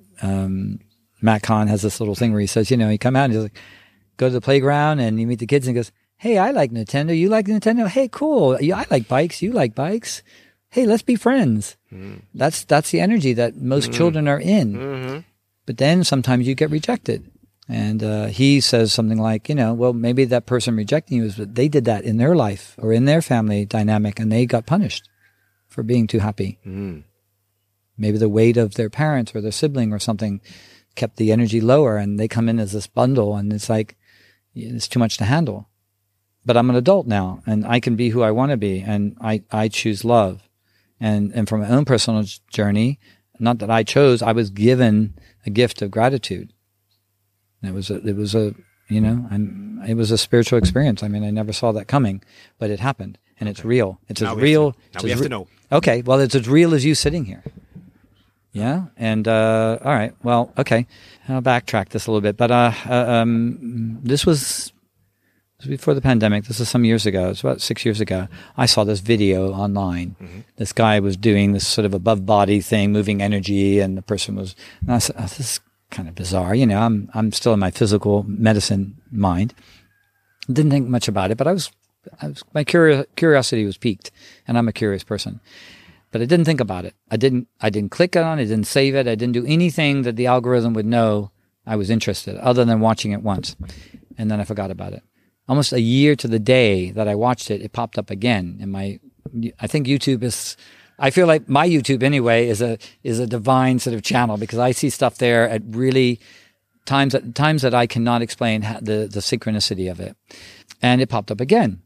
Speaker 3: Matt Kahn has this little thing where he says, you know, he come out and he's like, go to the playground and you meet the kids and he goes, hey, I like Nintendo. You like Nintendo? Hey, cool. I like bikes. You like bikes. Hey, let's be friends. That's the energy that most children are in. But then sometimes you get rejected. And he says something like, you know, well, maybe that person rejecting you is that they did that in their life or in their family dynamic, and they got punished for being too happy. Maybe the weight of their parents or their sibling or something kept the energy lower, and they come in as this bundle, and it's like, it's too much to handle. But I'm an adult now, and I can be who I want to be, and I choose love. And from my own personal journey, not that I chose, I was given a gift of gratitude. It was a spiritual experience. I mean, I never saw that coming, but it happened, and it's real. It's as real.
Speaker 2: Now we have to know.
Speaker 3: Okay, well, it's as real as you sitting here. Yeah, and all right, well, okay, I'll backtrack this a little bit, but this was before the pandemic. This was some years ago. It's about 6 years ago. I saw this video online. This guy was doing this sort of above body thing, moving energy, and the person was. And I said, oh, this is kind of bizarre. You know, I'm still in my physical medicine mind. Didn't think much about it, but my curiosity was piqued, and I'm a curious person. But I didn't think about it. I didn't click on it. I didn't save it. I didn't do anything that the algorithm would know I was interested, other than watching it once, and then I forgot about it. Almost a year to the day that I watched it, it popped up again. And I think YouTube is. I feel like my YouTube anyway is a divine sort of channel, because I see stuff there at really times that I cannot explain the synchronicity of it. And it popped up again.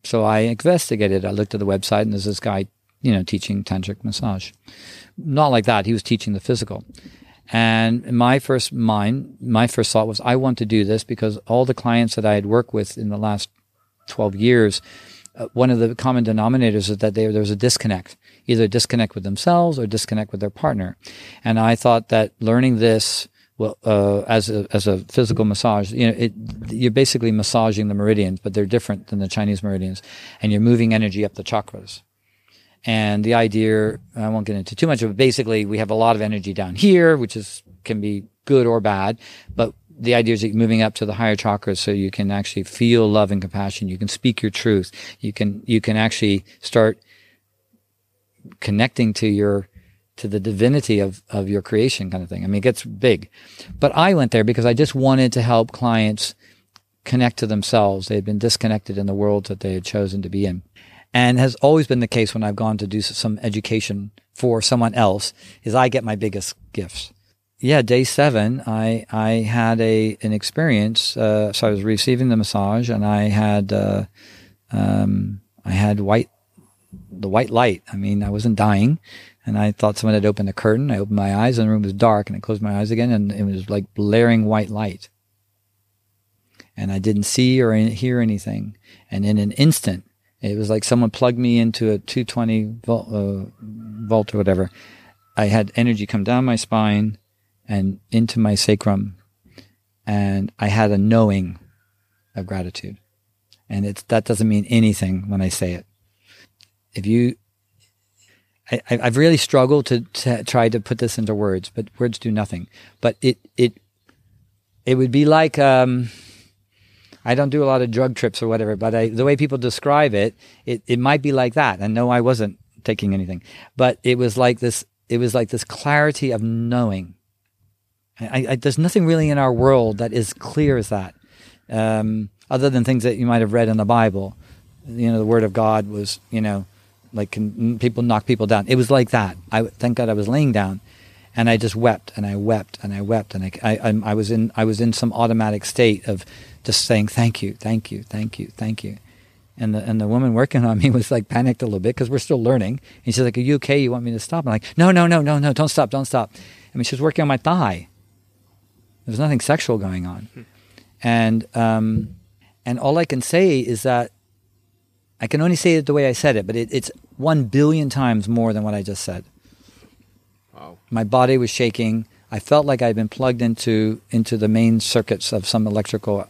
Speaker 3: So I investigated. I looked at the website, and there's this guy, teaching tantric massage. Not like that. He was teaching the physical. And my first thought was, I want to do this because all the clients that I had worked with in the last 12 years, one of the common denominators is that there was a disconnect, either a disconnect with themselves or disconnect with their partner. And I thought that learning this, as a physical massage, you're basically massaging the meridians, but they're different than the Chinese meridians, and you're moving energy up the chakras. And the idea, I won't get into too much of it, basically we have a lot of energy down here, which can be good or bad, but the idea is that you're moving up to the higher chakras so you can actually feel love and compassion. You can speak your truth. You can actually start connecting to the divinity of your creation, kind of thing. I mean, it gets big. But I went there because I just wanted to help clients connect to themselves. They had been disconnected in the world that they had chosen to be in. And has always been the case when I've gone to do some education for someone else, is I get my biggest gifts. Yeah, day 7, I had an experience. So I was receiving the massage, and I had the white light. I mean, I wasn't dying, and I thought someone had opened a curtain. I opened my eyes, and the room was dark, and I closed my eyes again, and it was like blaring white light. And I didn't see or hear anything. And in an instant, it was like someone plugged me into a 220 volt or whatever. I had energy come down my spine and into my sacrum, and I had a knowing of gratitude. And that doesn't mean anything when I say it. I've really struggled to try to put this into words, but words do nothing. But it would be like, I don't do a lot of drug trips or whatever, but the way people describe it might be like that. And no, I wasn't taking anything, but it was like this clarity of knowing. There's nothing really in our world that is clear as that, other than things that you might have read in the Bible. The Word of God was, like people knock people down. It was like that. Thank God I was laying down, and I just wept and I wept and I wept, and I was in some automatic state of just saying thank you, thank you, thank you, thank you. And the woman working on me was like panicked a little bit because we're still learning. And she's like, "Are you okay? You want me to stop?" I'm like, No, don't stop. I mean, she was working on my thigh. There's nothing sexual going on. And all I can say is that I can only say it the way I said it, but it's 1 billion times more than what I just said.
Speaker 2: Wow. My
Speaker 3: body was shaking. I felt like I'd been plugged into the main circuits of some electrical,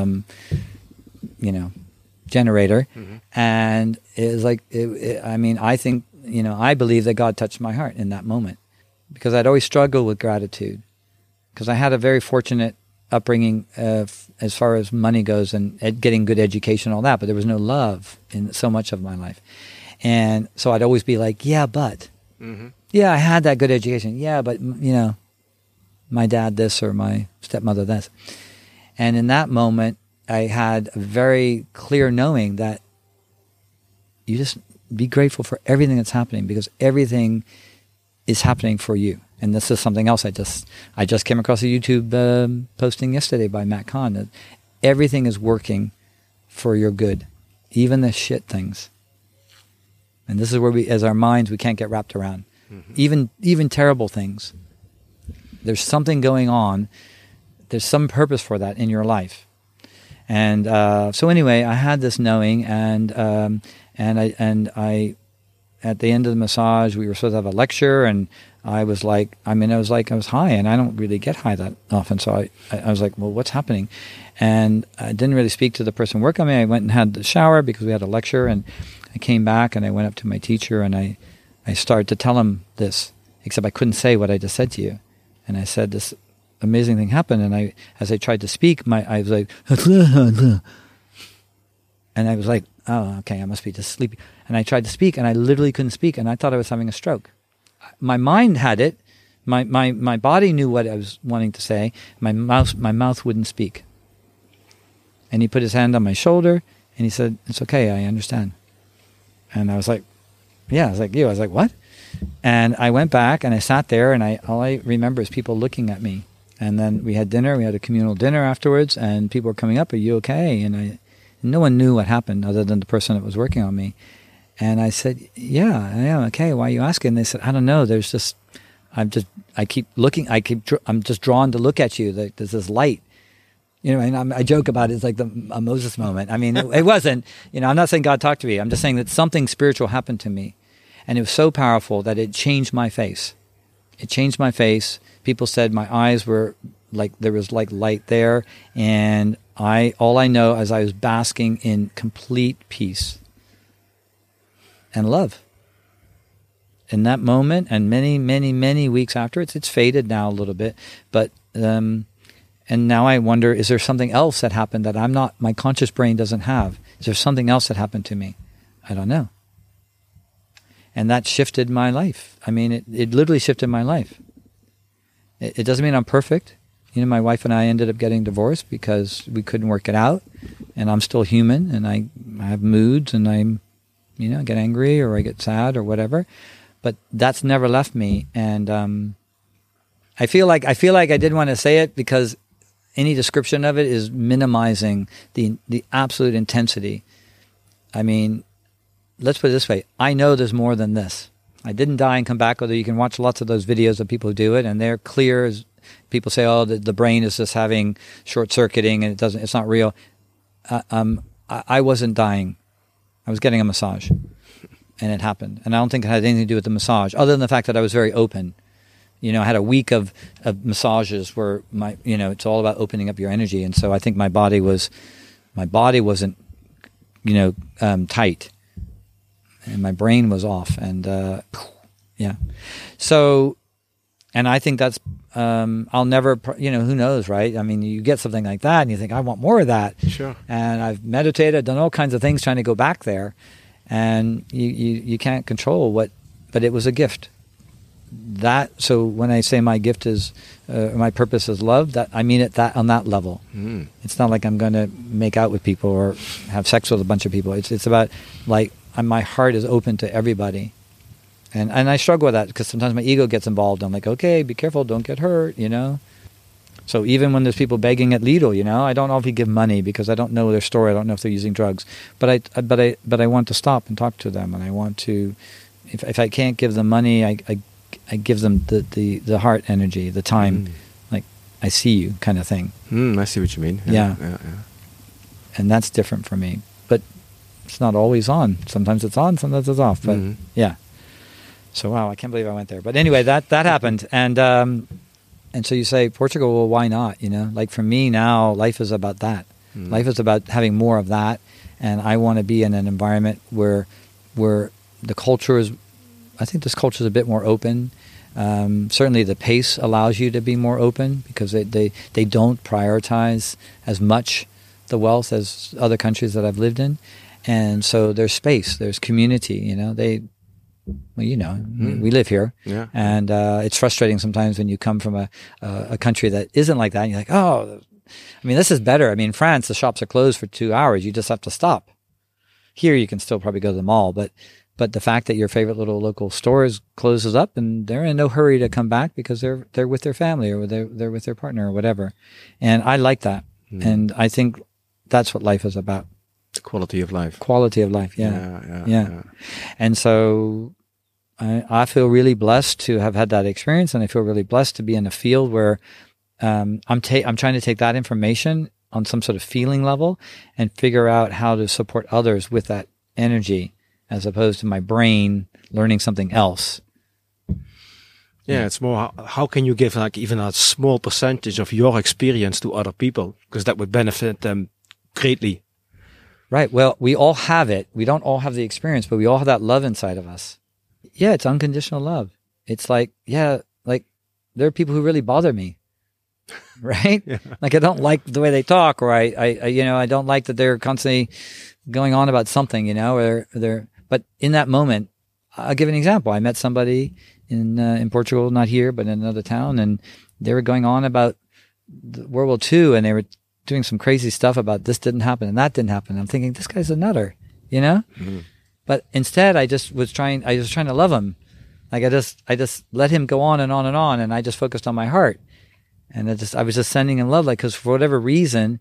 Speaker 3: generator. Mm-hmm. And it was like, I think, I believe that God touched my heart in that moment, because I'd always struggled with gratitude, because I had a very fortunate upbringing as far as money goes and getting good education and all that, but there was no love in so much of my life. And so I'd always be like, yeah, but, mm-hmm. Yeah, I had that good education. Yeah, but, my dad this or my stepmother this. And in that moment, I had a very clear knowing that you just be grateful for everything that's happening, because everything is happening for you. And this is something else I just came across a YouTube posting yesterday by Matt Kahn, that everything is working for your good, even the shit things. And this is where as our minds, we can't get wrapped around. Mm-hmm. Even terrible things. There's something going on. There's some purpose for that in your life. And so anyway, I had this knowing, and I at the end of the massage, we were supposed to have a lecture, and I was high, and I don't really get high that often. So I was like, well, what's happening? And I didn't really speak to the person working on me. I went and had the shower because we had a lecture, and I came back and I went up to my teacher, and I started to tell him this, except I couldn't say what I just said to you. And I said, this amazing thing happened. And as I tried to speak, I was like, and I was like, oh, okay, I must be just sleepy. And I tried to speak, and I literally couldn't speak, and I thought I was having a stroke. My mind had it. My body knew what I was wanting to say. My mouth wouldn't speak. And he put his hand on my shoulder, and he said, "It's okay, I understand." And I was like, yeah, I was like, you. I was like, what? And I went back, and I sat there, and all I remember is people looking at me. And then we had dinner. We had a communal dinner afterwards, and people were coming up, "Are you okay?" And No one knew what happened other than the person that was working on me. And I said, yeah, I am. Okay, why are you asking? And they said, I don't know. There's just, I keep looking. I'm just drawn to look at you. There's this light. You know, and I joke about it. It's like a Moses moment. I mean, it wasn't, you know, I'm not saying God talked to me. I'm just saying that something spiritual happened to me. And it was so powerful that it changed my face. It changed my face. People said my eyes were like, there was like light there. And all I know is I was basking in complete peace and love. In that moment, and many, many, many weeks after, it's faded now a little bit, but, and now I wonder, is there something else that happened that my conscious brain doesn't have? Is there something else that happened to me? I don't know. And that shifted my life. I mean, it literally shifted my life. It doesn't mean I'm perfect. You know, my wife and I ended up getting divorced because we couldn't work it out. And I'm still human, and I have moods, and I get angry or I get sad or whatever. But that's never left me. And I feel like I didn't want to say it because any description of it is minimizing the absolute intensity. I mean, let's put it this way. I know there's more than this. I didn't die and come back, although you can watch lots of those videos of people who do it, and they're clear as people say, oh, the brain is just having short-circuiting and it's not real. I wasn't dying. I was getting a massage, and it happened. And I don't think it had anything to do with the massage, other than the fact that I was very open. You know, I had a week of massages where it's all about opening up your energy. And so I think my body wasn't, tight, and my brain was off. And, yeah. So, and I think that's, I'll never, who knows, right? I mean, you get something like that and you think, I want more of that.
Speaker 2: Sure.
Speaker 3: And I've meditated, done all kinds of things trying to go back there, and you can't control but it was a gift. So when I say my gift is, my purpose is love, that I mean it that on that level. Mm. It's not like I'm going to make out with people or have sex with a bunch of people. It's about like my heart is open to everybody, and I struggle with that because sometimes my ego gets involved. I'm like, okay, be careful, don't get hurt, So even when there's people begging at Lidl, I don't know if you give money because I don't know their story. I don't know if they're using drugs, but I want to stop and talk to them, and I want to. If I can't give them money, I give them the heart energy, the time, like I see you kind of thing.
Speaker 2: I see what you mean.
Speaker 3: Yeah. And that's different for me, but it's not always on. Sometimes it's on, sometimes it's off. But yeah. So wow, I can't believe I went there. But anyway, that happened, and so you say Portugal. Well, why not? Like for me now, life is about that. Life is about having more of that, and I want to be in an environment where the culture is. I think this culture is a bit more open. Certainly the pace allows you to be more open because they don't prioritize as much the wealth as other countries that I've lived in. And so there's space, there's community, we live here. Yeah. And it's frustrating sometimes when you come from a country that isn't like that and you're like, oh, I mean, this is better. I mean, France, the shops are closed for 2 hours. You just have to stop. Here you can still probably go to the mall, but the fact that your favorite little local store closes up and they're in no hurry to come back because they're with their family or they're with their partner or whatever. And I like that. And I think that's what life is about.
Speaker 2: The quality of life. Quality
Speaker 3: of life, yeah. And so I feel really blessed to have had that experience, and I feel really blessed to be in a field where I'm trying to take that information on some sort of feeling level and figure out how to support others with that energy, as opposed to my brain learning something else.
Speaker 2: Yeah, it's more how can you give like even a small percentage of your experience to other people, because that would benefit them greatly.
Speaker 3: Right. Well, we all have it. We don't all have the experience, but we all have that love inside of us. Yeah, it's unconditional love. It's like, like there are people who really bother me. Right? Yeah. Like I don't like the way they talk, or I don't like that they're constantly going on about something, or but in that moment, I'll give an example. I met somebody in Portugal, not here, but in another town, and they were going on about World War II, and they were doing some crazy stuff about this didn't happen and that didn't happen. I'm thinking, this guy's a nutter, Mm-hmm. But instead, I was trying to love him. Like I just let him go on and on and on, and I just focused on my heart, and I was just sending him love, like because for whatever reason,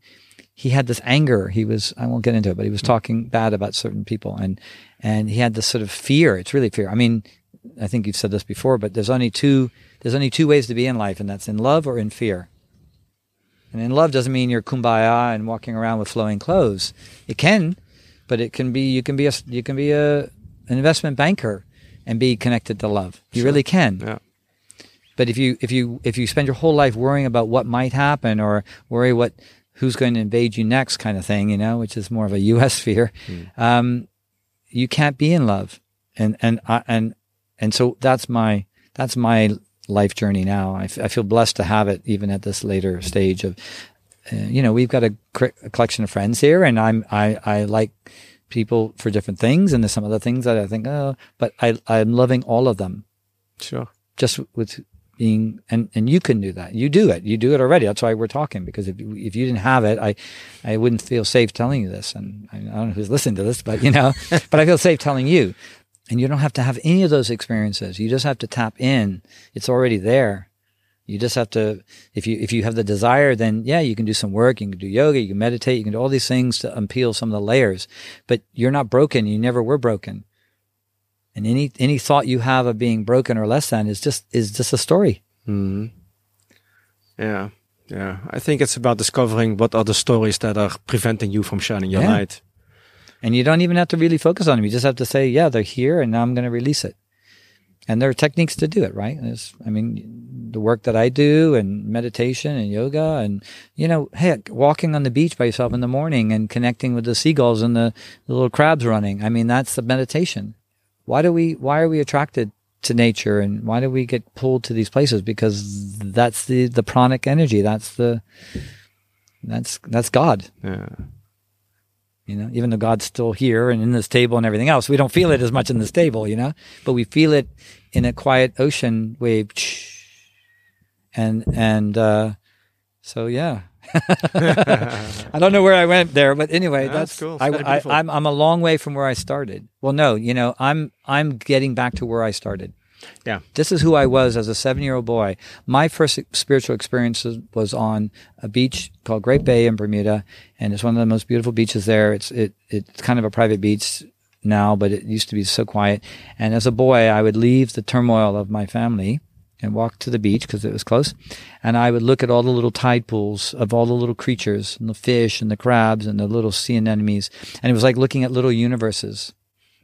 Speaker 3: he had this anger. I won't get into it, but he was talking bad about certain people, and he had this sort of fear. It's really fear. I mean, I think you've said this before, but there's only two ways to be in life, and that's in love or in fear. And in love doesn't mean you're kumbaya and walking around with flowing clothes. It can, but it can be. You can be an investment banker and be connected to love. You really can.
Speaker 2: Yeah.
Speaker 3: But if you spend your whole life worrying about what might happen or worry who's going to invade you next, kind of thing, which is more of a U.S. fear, you can't be in love. And so that's my life journey now. I feel blessed to have it even at this later stage of, we've got a collection of friends here, and I like people for different things, and there's some other things that I think, but I'm loving all of them.
Speaker 2: Sure.
Speaker 3: Just with being, and you can do that. You do it already. That's why we're talking, because if you didn't have it, I wouldn't feel safe telling you this. And I don't know who's listening to this, but but I feel safe telling you. And you don't have to have any of those experiences. You just have to tap in. It's already there. You just have to, if you have the desire, then you can do some work. You can do yoga. You can meditate. You can do all these things to unpeel some of the layers. But you're not broken. You never were broken. And any thought you have of being broken or less than is just a story.
Speaker 2: Mm-hmm. Yeah. I think it's about discovering what are the stories that are preventing you from shining your light.
Speaker 3: And you don't even have to really focus on them. You just have to say, they're here, and now I'm going to release it. And there are techniques to do it, right? The work that I do, and meditation and yoga, and, walking on the beach by yourself in the morning and connecting with the seagulls and the little crabs running. That's the meditation. Why are we attracted to nature, and why do we get pulled to these places? Because that's the pranic energy. That's God.
Speaker 2: Yeah.
Speaker 3: Even though God's still here and in this table and everything else, we don't feel it as much in this table, but we feel it in a quiet ocean wave. So yeah. I don't know where I went there, but anyway, that's
Speaker 2: cool.
Speaker 3: I'm a long way from where I started. Well, no, I'm getting back to where I started.
Speaker 2: Yeah.
Speaker 3: This is who I was as a 7-year-old boy. My first spiritual experience was on a beach called Great Bay in Bermuda, and it's one of the most beautiful beaches there. It's kind of a private beach now, but it used to be so quiet. And as a boy, I would leave the turmoil of my family and walk to the beach because it was close, and I would look at all the little tide pools of all the little creatures and the fish and the crabs and the little sea anemones, and it was like looking at little universes.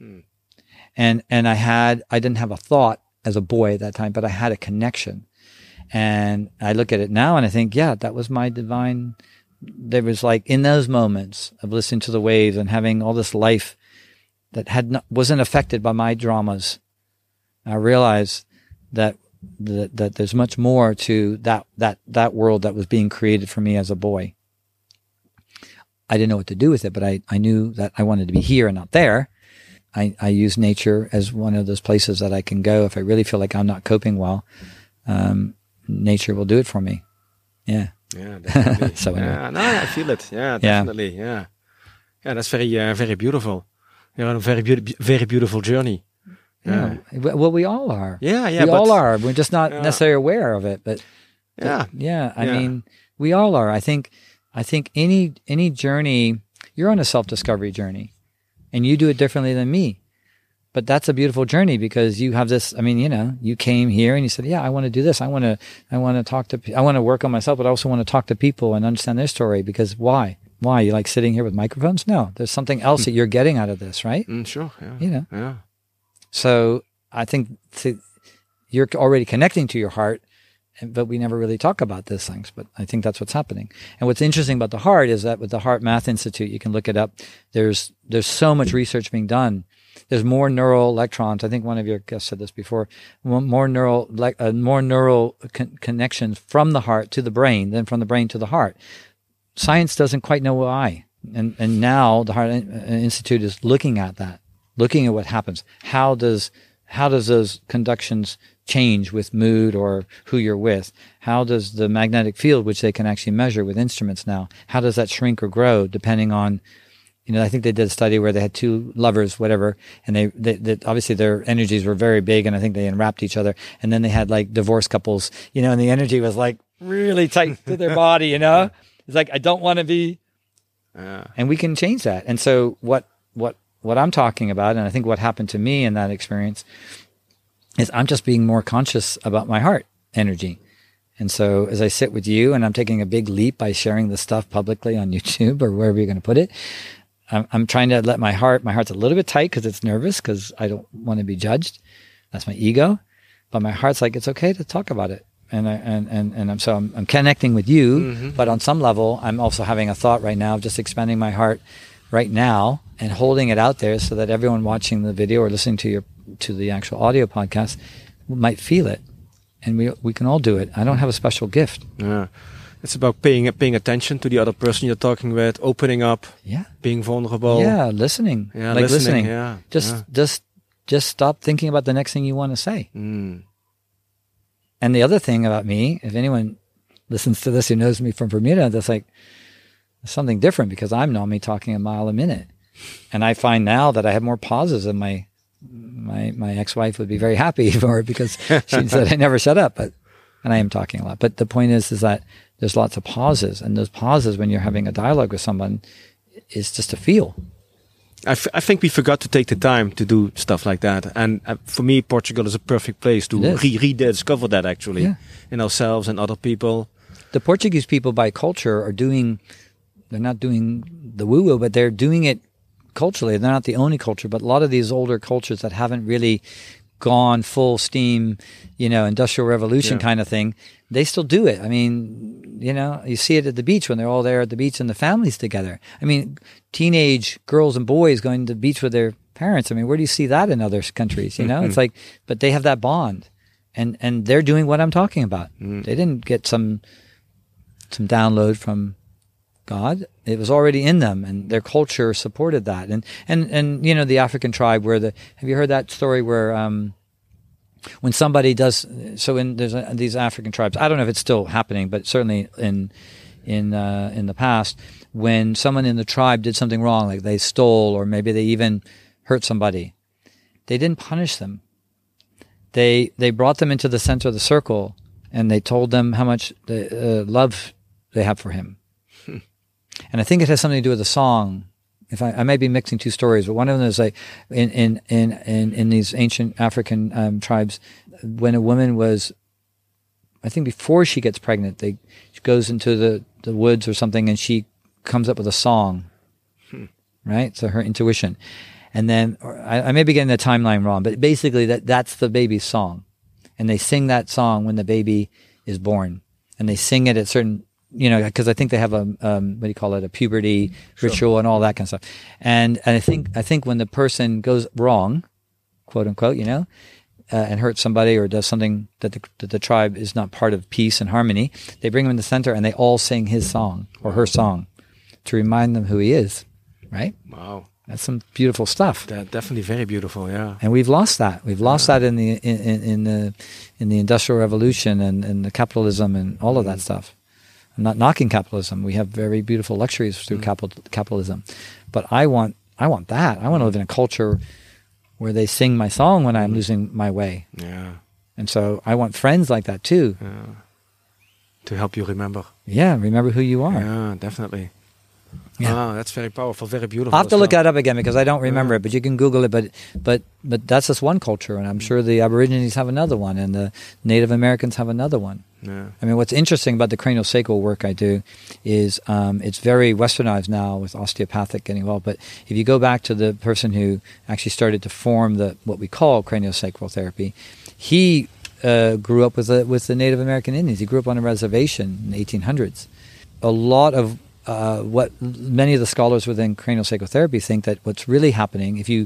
Speaker 3: And I didn't have a thought as a boy at that time, but I had a connection. And I look at it now and I think, that was my divine. There was like in those moments of listening to the waves and having all this life that wasn't affected by my dramas. I realized that there's much more to that world that was being created for me as a boy. I didn't know what to do with it, but I knew that I wanted to be here and not there. I use nature as one of those places that I can go if I really feel like I'm not coping well. Nature will do it for me. Yeah.
Speaker 2: Yeah, definitely.
Speaker 3: So anyway.
Speaker 2: I feel it. Yeah, definitely. Yeah. That's very, very beautiful. You're on a very, very beautiful journey.
Speaker 3: Yeah. Well, we all are.
Speaker 2: Yeah.
Speaker 3: We all are. We're just not necessarily aware of it, but I mean, we all are. I think any journey, you're on a self-discovery journey. And you do it differently than me. But that's a beautiful journey because you have this, you came here and you said, I want to do this. I want to work on myself, but I also want to talk to people and understand their story. Because why? You like sitting here with microphones? No, there's something else that you're getting out of this, right?
Speaker 2: Sure. Yeah. Yeah.
Speaker 3: So I think you're already connecting to your heart, but we never really talk about these things. But I think that's what's happening. And what's interesting about the heart is that with the Heart Math Institute, you can look it up. There's so much research being done. There's more neural electrons. I think one of your guests said this before. More neural connections from the heart to the brain than from the brain to the heart. Science doesn't quite know why, and now the Heart Institute is looking at that, looking at what happens. How does those conductions change with mood or who you're with? How does the magnetic field, which they can actually measure with instruments now, how does that shrink or grow depending on, I think they did a study where they had two lovers, whatever, and they obviously their energies were very big, and I think they enwrapped each other. And then they had like divorced couples, and the energy was like really tight to their body, It's like, I don't want to be And we can change that. And so what I'm talking about, and I think what happened to me in that experience, is I'm just being more conscious about my heart energy. And so as I sit with you, and I'm taking a big leap by sharing this stuff publicly on YouTube or wherever you're going to put it, I'm trying to let my heart's a little bit tight because it's nervous, because I don't want to be judged. That's my ego. But my heart's like, it's okay to talk about it. And I'm connecting with you, but on some level, I'm also having a thought right now of just expanding my heart right now and holding it out there so that everyone watching the video or listening to the actual audio podcast might feel it. And we can all do it. I don't have a special gift.
Speaker 2: Yeah. It's about paying attention to the other person you're talking with, opening up, being vulnerable.
Speaker 3: Yeah, listening.
Speaker 2: Yeah,
Speaker 3: like listening.
Speaker 2: Yeah.
Speaker 3: Just stop thinking about the next thing you want to say.
Speaker 2: Mm.
Speaker 3: And the other thing about me, if anyone listens to this who knows me from Bermuda, that's like something different, because I'm normally talking a mile a minute. And I find now that I have more pauses, and my ex-wife would be very happy for it, because she said I never shut up, and I am talking a lot. But the point is that there's lots of pauses, and those pauses when you're having a dialogue with someone is just to feel.
Speaker 2: I think we forgot to take the time to do stuff like that. And for me, Portugal is a perfect place to rediscover that, actually, in ourselves and other people.
Speaker 3: The Portuguese people by culture they're not doing the woo-woo, but they're doing it culturally. They're not the only culture, but a lot of these older cultures that haven't really gone full steam, industrial revolution kind of thing, they still do it. I mean, you see it at the beach when they're all there at the beach and the families together. I mean, teenage girls and boys going to the beach with their parents. I mean, where do you see that in other countries? It's like, but they have that bond, and they're doing what I'm talking about. They didn't get some download from God. It was already in them, and their culture supported that. And the African tribe have you heard that story where when somebody does, there's these African tribes, I don't know if it's still happening, but certainly in the past, when someone in the tribe did something wrong, like they stole, or maybe they even hurt somebody, they didn't punish them. They brought them into the center of the circle, and they told them how much love they have for him. And I think it has something to do with the song. If I may be mixing two stories, but one of them is like in these ancient African tribes, when a woman was, I think before she gets pregnant, she goes into the woods or something, and she comes up with a song, right? So her intuition. And then, I may be getting the timeline wrong, but basically that's the baby's song. And they sing that song when the baby is born. And they sing it at certain, because I think they have a puberty ritual and all that kind of stuff. And I think when the person goes wrong, quote unquote, and hurts somebody or does something that the tribe is not part of peace and harmony, they bring him in the center and they all sing his song or her song to remind them who he is, right?
Speaker 2: Wow.
Speaker 3: That's some beautiful stuff.
Speaker 2: Definitely very beautiful, yeah.
Speaker 3: And we've lost that. We've lost that in the Industrial Revolution and the capitalism and all of that stuff. I'm not knocking capitalism. We have very beautiful luxuries through capitalism. But I want that. I want to live in a culture where they sing my song when I'm losing my way.
Speaker 2: Yeah.
Speaker 3: And so I want friends like that too.
Speaker 2: Yeah. To help you remember.
Speaker 3: Yeah, remember who you are.
Speaker 2: Yeah, definitely.
Speaker 3: Yeah.
Speaker 2: That's very powerful, very beautiful.
Speaker 3: I'll have to look that up again because I don't remember it, but you can Google it. But that's just one culture, and I'm sure the Aborigines have another one, and the Native Americans have another one.
Speaker 2: Yeah.
Speaker 3: I mean, what's interesting about the craniosacral work I do is it's very westernized now with osteopathic getting involved. But if you go back to the person who actually started to form what we call craniosacral therapy, he grew up with the Native American Indians. He grew up on a reservation in the 1800s. A lot of what many of the scholars within craniosacral therapy think that what's really happening, if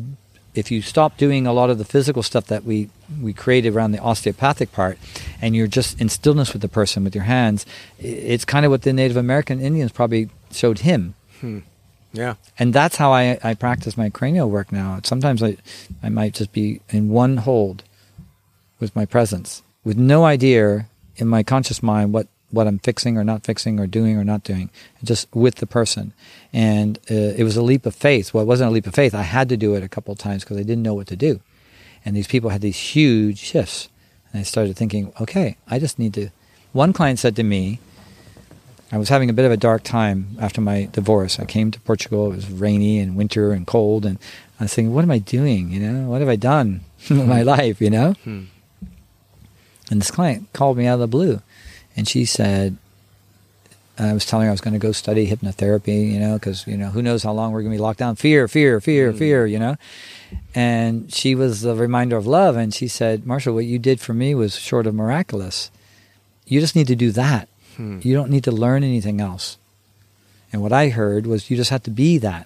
Speaker 3: you stop doing a lot of the physical stuff that we created around the osteopathic part, and you're just in stillness with the person with your hands, it's kind of what the Native American Indians probably showed him.
Speaker 2: Yeah.
Speaker 3: And that's how I practice my cranial work now. Sometimes I might just be in one hold with my presence, with no idea in my conscious mind what I'm fixing or not fixing or doing or not doing, just with the person. And it was a leap of faith. Well, it wasn't a leap of faith. I had to do it a couple of times because I didn't know what to do. And these people had these huge shifts. And I started thinking, okay, I just need to... One client said to me, I was having a bit of a dark time after my divorce. I came to Portugal. It was rainy and winter and cold, and I was thinking, what am I doing? What have I done with my life? And this client called me out of the blue, and she said, I was telling her I was going to go study hypnotherapy, because, who knows how long we're going to be locked down. Fear, And she was a reminder of love. And she said, Marshall, what you did for me was short of miraculous. You just need to do that. You don't need to learn anything else. And what I heard was you just have to be that.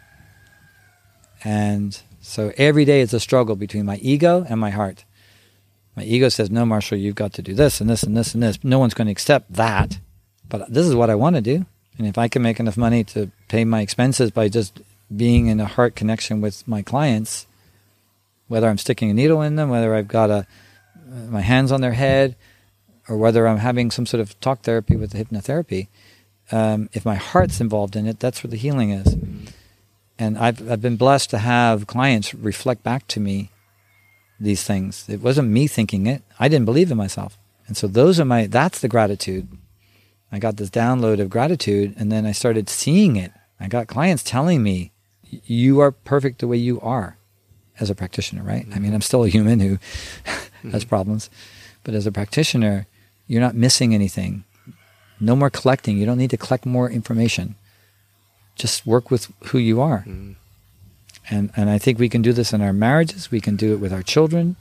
Speaker 3: And so every day it's a struggle between my ego and my heart. My ego says, no, Marshall, you've got to do this and this and this and this. No one's going to accept that. But this is what I want to do. And if I can make enough money to pay my expenses by just being in a heart connection with my clients, whether I'm sticking a needle in them, whether I've got my hands on their head, or whether I'm having some sort of talk therapy with the hypnotherapy, if my heart's involved in it, that's where the healing is. And I've been blessed to have clients reflect back to me these things. It wasn't me thinking it. I didn't believe in myself. And so that's the gratitude. I got this download of gratitude, and then I started seeing it. I got clients telling me, you are perfect the way you are as a practitioner, right? I mean, I'm still a human who has problems. But as a practitioner, you're not missing anything. No more collecting. You don't need to collect more information. Just work with who you are. And I think we can do this in our marriages. We can do it with our children,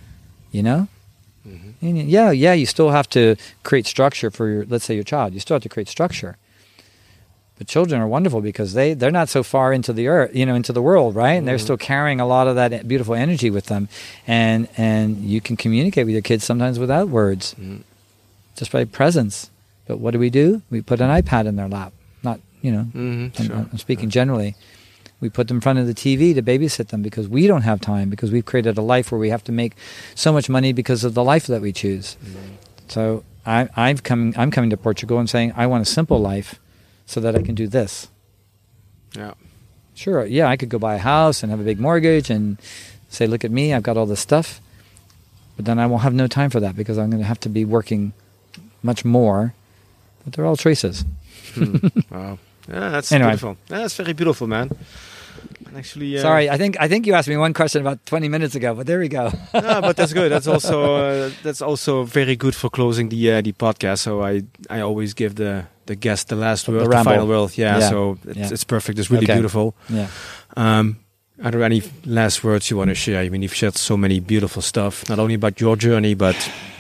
Speaker 3: And yeah, you still have to create structure for let's say your child. You still have to create structure. But children are wonderful because they're not so far into the earth, into the world, right? And they're still carrying a lot of that beautiful energy with them. And you can communicate with your kids sometimes without words, just by presence. But what do? We put an iPad in their lap. Not, I'm speaking generally. We put them in front of the TV to babysit them because we don't have time, because we've created a life where we have to make so much money because of the life that we choose. So I'm coming to Portugal and saying, I want a simple life so that I can do this.
Speaker 2: Yeah.
Speaker 3: Sure, yeah, I could go buy a house and have a big mortgage and say, look at me, I've got all this stuff. But then I won't have no time for that because I'm going to have to be working much more. But they're all choices.
Speaker 2: Wow. Yeah, that's beautiful. Yeah, that's very beautiful, man. And actually,
Speaker 3: sorry, I think you asked me one question about 20 minutes ago, but there we go.
Speaker 2: No, but that's good. That's also very good for closing the podcast. So I always give the guest the last word, the final word. Yeah. So it's perfect. It's really beautiful.
Speaker 3: Yeah.
Speaker 2: Are there any last words you want to share? I mean, you've shared so many beautiful stuff, not only about your journey, but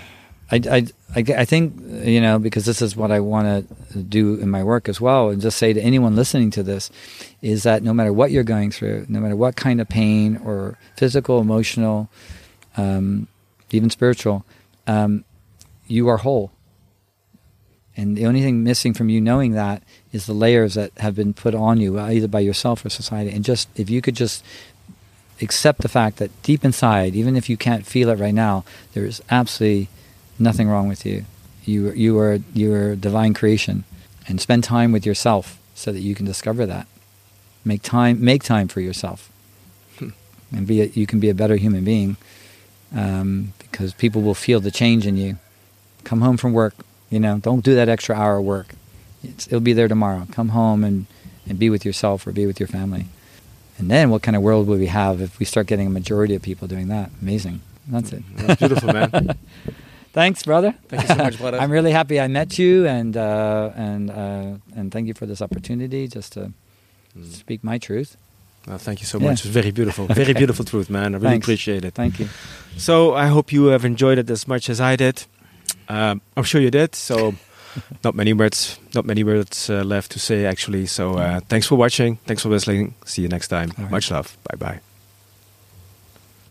Speaker 3: I think, because this is what I want to do in my work as well, and just say to anyone listening to this, is that no matter what you're going through, no matter what kind of pain or physical, emotional, even spiritual, you are whole. And the only thing missing from you knowing that is the layers that have been put on you, either by yourself or society. And just if you could just accept the fact that deep inside, even if you can't feel it right now, there is absolutely nothing wrong with you. You are a divine creation, and spend time with yourself so that you can discover that. Make time for yourself, and you can be a better human being, because people will feel the change in you. Come home from work, don't do that extra hour of work. It'll be there tomorrow. Come home and be with yourself or be with your family. And then what kind of world will we have if we start getting a majority of people doing that? Amazing. That's it.
Speaker 2: That's beautiful, man.
Speaker 3: Thanks, brother.
Speaker 2: Thank you so much, brother.
Speaker 3: I'm really happy I met you, and thank you for this opportunity just to speak my truth.
Speaker 2: Well, thank you so much. It's very beautiful. Very beautiful truth, man. I really appreciate it.
Speaker 3: Thank you.
Speaker 2: So I hope you have enjoyed it as much as I did. I'm sure you did. So not many words left to say, actually. So thanks for watching. Thanks for listening. See you next time.
Speaker 3: Right.
Speaker 2: Much love. Bye-bye.